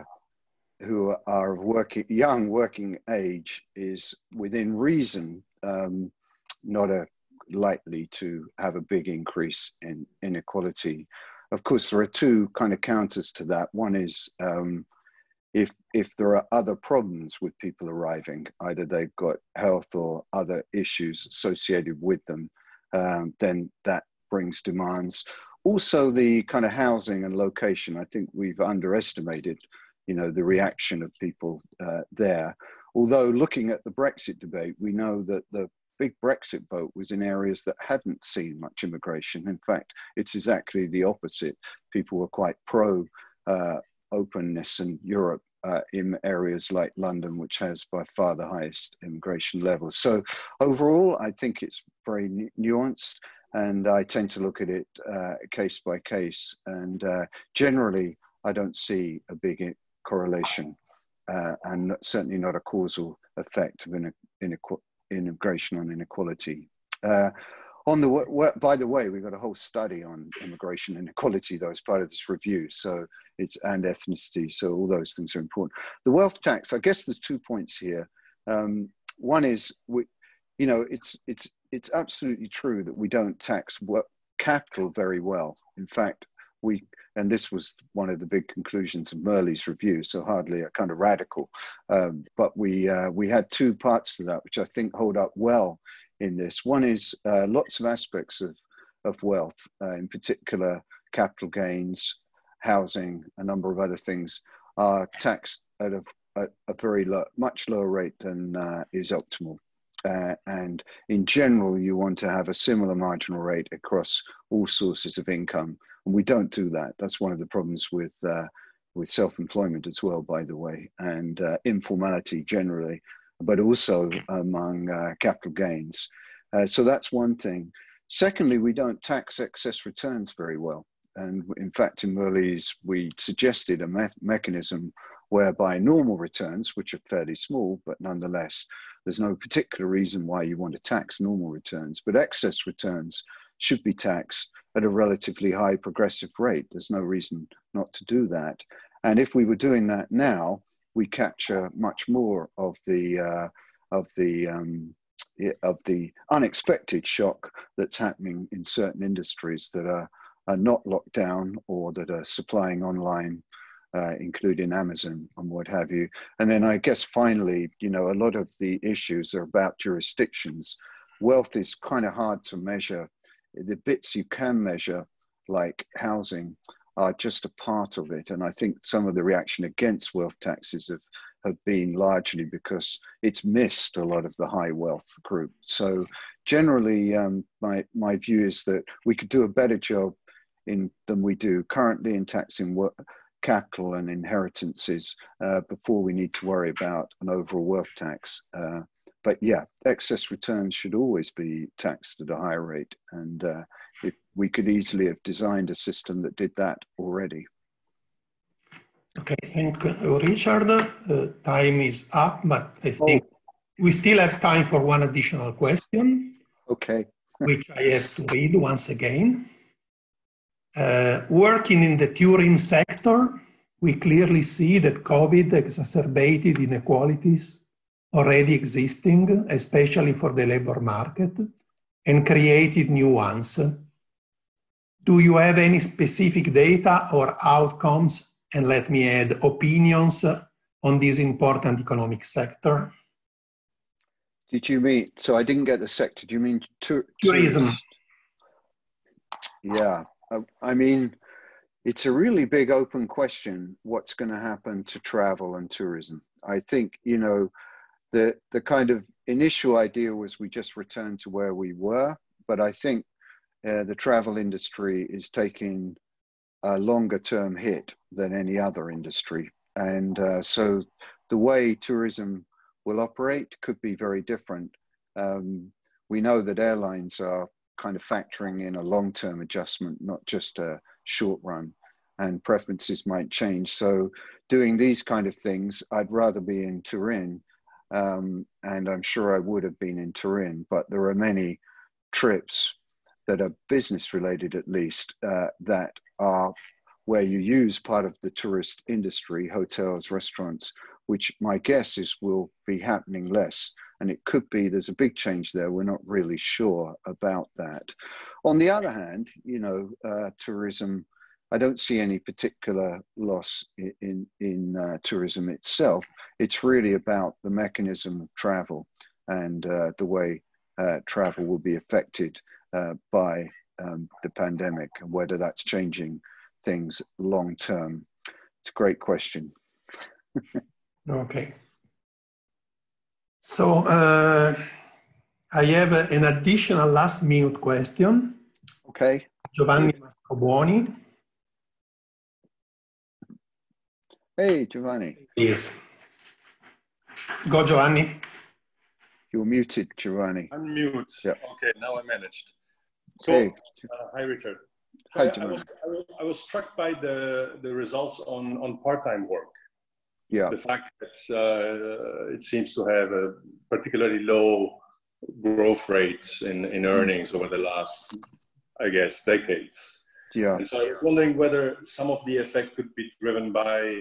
who are of working, young working age is within reason, um, not a likely to have a big increase in inequality. Of course, there are two kind of counters to that. One is um, if, if there are other problems with people arriving, either they've got health or other issues associated with them, um, then that brings demands. Also, the kind of housing and location, I think we've underestimated, you know, the reaction of people uh, there. Although looking at the Brexit debate, we know that the big Brexit vote was in areas that hadn't seen much immigration. In fact, it's exactly the opposite. People were quite pro uh, openness in Europe uh, in areas like London, which has by far the highest immigration levels. So overall, I think it's very nu nuanced, and I tend to look at it uh, case by case. And uh, generally, I don't see a big correlation uh, and certainly not a causal effect of inequality. Immigration on inequality. Uh, on the by the way, we've got a whole study on immigration inequality though as part of this review. So it's and ethnicity. So all those things are important. The wealth tax. I guess there's two points here. Um, one is we, you know, it's it's it's absolutely true that we don't tax work, capital very well. In fact, we and this was one of the big conclusions of Merley's review, so hardly a kind of radical, um, but we uh, we had two parts to that which I think hold up well in this. One is uh, lots of aspects of, of wealth, uh, in particular capital gains, housing, a number of other things are taxed at a, at a very low, much lower rate than uh, is optimal. Uh, and in general, you want to have a similar marginal rate across all sources of income. And we don't do that. That's one of the problems with, uh, with self-employment as well, by the way, and uh, informality generally, but also among uh, capital gains. Uh, so that's one thing. Secondly, we don't tax excess returns very well. And in fact, in Merley's, we suggested a me mechanism whereby normal returns, which are fairly small, but nonetheless, there's no particular reason why you want to tax normal returns, but excess returns should be taxed at a relatively high progressive rate. There's no reason not to do that. And if we were doing that now, we capture much more of the, uh, of the, um, of the unexpected shock that's happening in certain industries that are, are not locked down or that are supplying online, uh, including Amazon and what have you. And then I guess finally, you know, a lot of the issues are about jurisdictions. Wealth is kind of hard to measure. The bits you can measure like housing are just a part of it. And I think some of the reaction against wealth taxes have, have been largely because it's missed a lot of the high wealth group. So generally, um, my, my view is that we could do a better job in than we do currently in taxing work, capital and inheritances uh, before we need to worry about an overall wealth tax. Uh, but yeah, excess returns should always be taxed at a higher rate. And uh, if we could easily have designed a system that did that already. Okay, thank you, Richard. Uh, time is up, but I think oh. we still have time for one additional question. Okay. Which I have to read once again. Uh, working in the tourism sector, we clearly see that COVID exacerbated inequalities already existing, especially for the labor market, and created new ones. Do you have any specific data or outcomes, and let me add, opinions on this important economic sector? Did you mean, so I didn't get the sector, do you mean tur tourism? Tourist? Yeah. I mean, it's a really big open question, what's going to happen to travel and tourism. I think, you know, the, the kind of initial idea was we just return to where we were, but I think uh, the travel industry is taking a longer term hit than any other industry. And uh, so the way tourism will operate could be very different. Um, we know that airlines are kind of factoring in a long-term adjustment, not just a short run, and preferences might change. So doing these kind of things, I'd rather be in Turin, um, and I'm sure I would have been in Turin, but there are many trips that are business related, at least, uh, that are where you use part of the tourist industry, hotels, restaurants, which my guess is will be happening less. And it could be there's a big change there. We're not really sure about that. On the other hand, you know, uh, tourism, I don't see any particular loss in, in, in uh, tourism itself. It's really about the mechanism of travel and uh, the way uh, travel will be affected uh, by um, the pandemic and whether that's changing things long term. It's a great question. Okay. So uh, I have a, an additional last minute question. Okay. Giovanni Mastrobuoni. Hey, Giovanni. Yes. Go, Giovanni. You're muted, Giovanni. Unmute. Yep. Okay, now I managed. So, hey. uh, hi, Richard. So hi, I, Giovanni. I, was, I, was, I was struck by the, the results on, on part-time work. Yeah. The fact that uh, it seems to have a particularly low growth rates in, in earnings over the last, I guess, decades. Yeah. And so I was wondering whether some of the effect could be driven by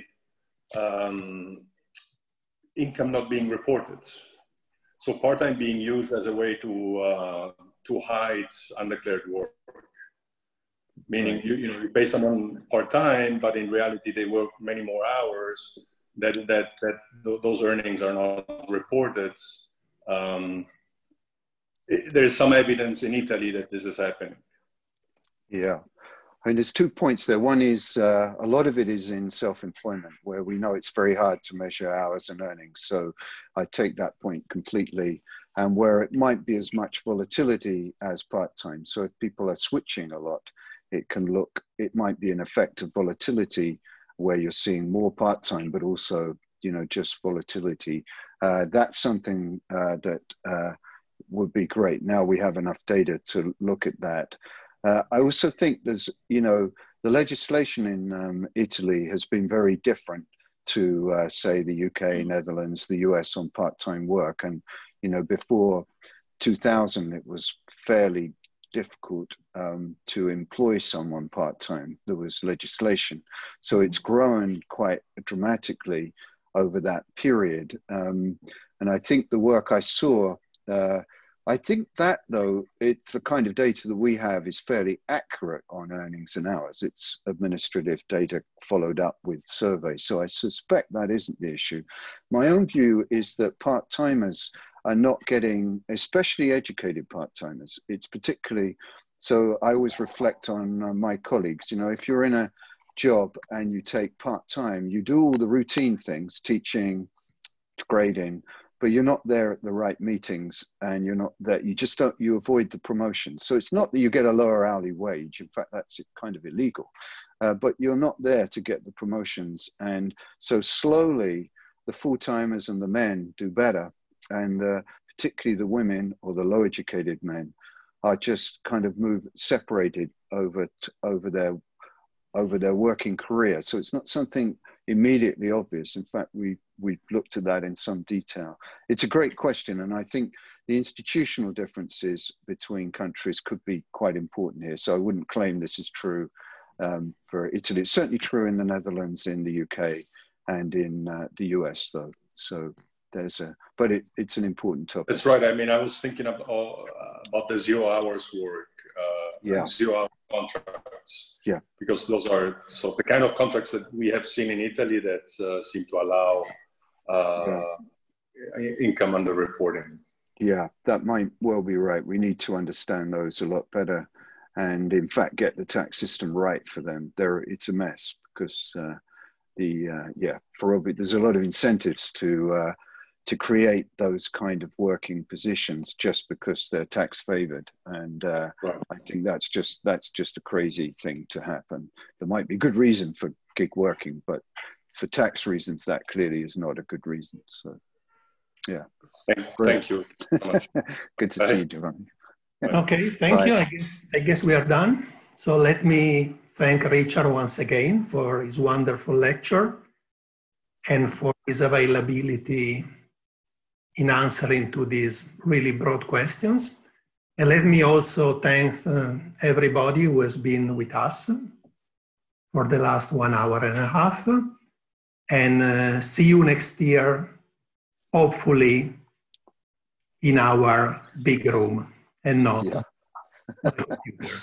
um, income not being reported. So part-time being used as a way to, uh, to hide undeclared work. Meaning, you, you know, you pay someone part-time, but in reality, they work many more hours. That that that th those earnings are not reported. Um, it, there's some evidence in Italy that this is happening. Yeah, I mean, there's two points there. One is uh, a lot of it is in self-employment, where we know it's very hard to measure hours and earnings. So I take that point completely. And where it might be as much volatility as part-time. So if people are switching a lot, it can look, it might be an effect of volatility where you're seeing more part-time, but also, you know, just volatility. Uh, that's something uh, that uh, would be great. Now we have enough data to look at that. Uh, I also think there's, you know, the legislation in um, Italy has been very different to, uh, say, the U K, Netherlands, the U S on part-time work. And, you know, before two thousand, it was fairly difficult um, to employ someone part-time. There was legislation. So it's grown quite dramatically over that period. Um, and I think the work I saw, uh, I think that though, it's the kind of data that we have is fairly accurate on earnings and hours. It's administrative data followed up with surveys. So I suspect that isn't the issue. My own view is that part-timers are not getting, especially educated part-timers, it's particularly So I always reflect on uh, my colleagues. You know, if you're in a job and you take part-time, you do all the routine things, teaching, grading, but you're not there at the right meetings, and you're not there, you just don't, you avoid the promotion. So it's not that you get a lower hourly wage. In fact, that's kind of illegal, uh, but you're not there to get the promotions. And so slowly the full-timers and the men do better. And uh, particularly the women or the low educated men are just kind of move separated over, t over their over their working career. So it's not something immediately obvious. In fact, we, we've looked at that in some detail. It's a great question. And I think the institutional differences between countries could be quite important here. So I wouldn't claim this is true um, for Italy. It's certainly true in the Netherlands, in the U K, and in uh, the U S though. So there's a, but it, it's an important topic. That's right. I mean, I was thinking about, uh, about the zero hours work, uh, yeah. zero hour contracts. Yeah. Because those are so the kind of contracts that we have seen in Italy that uh, seem to allow uh, yeah. income underreporting. Yeah, that might well be right. We need to understand those a lot better, and in fact, get the tax system right for them. There, it's a mess because uh, the uh, yeah, for obvious, there's a lot of incentives to. Uh, to create those kind of working positions just because they're tax favored. And uh, right. I think that's just, that's just a crazy thing to happen. There might be good reason for gig working, but for tax reasons, that clearly is not a good reason. So, yeah. Thank, thank you so much. Good to Bye. see you, Giovanni. Okay, thank Bye. you. I guess, I guess we are done. So let me thank Richard once again for his wonderful lecture and for his availability in answering to these really broad questions. And let me also thank uh, everybody who has been with us for the last one hour and a half. And uh, see you next year, hopefully in our big room and not. Yeah.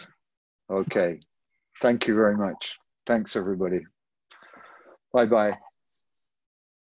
Okay. Thank you very much. Thanks, everybody. Bye-bye.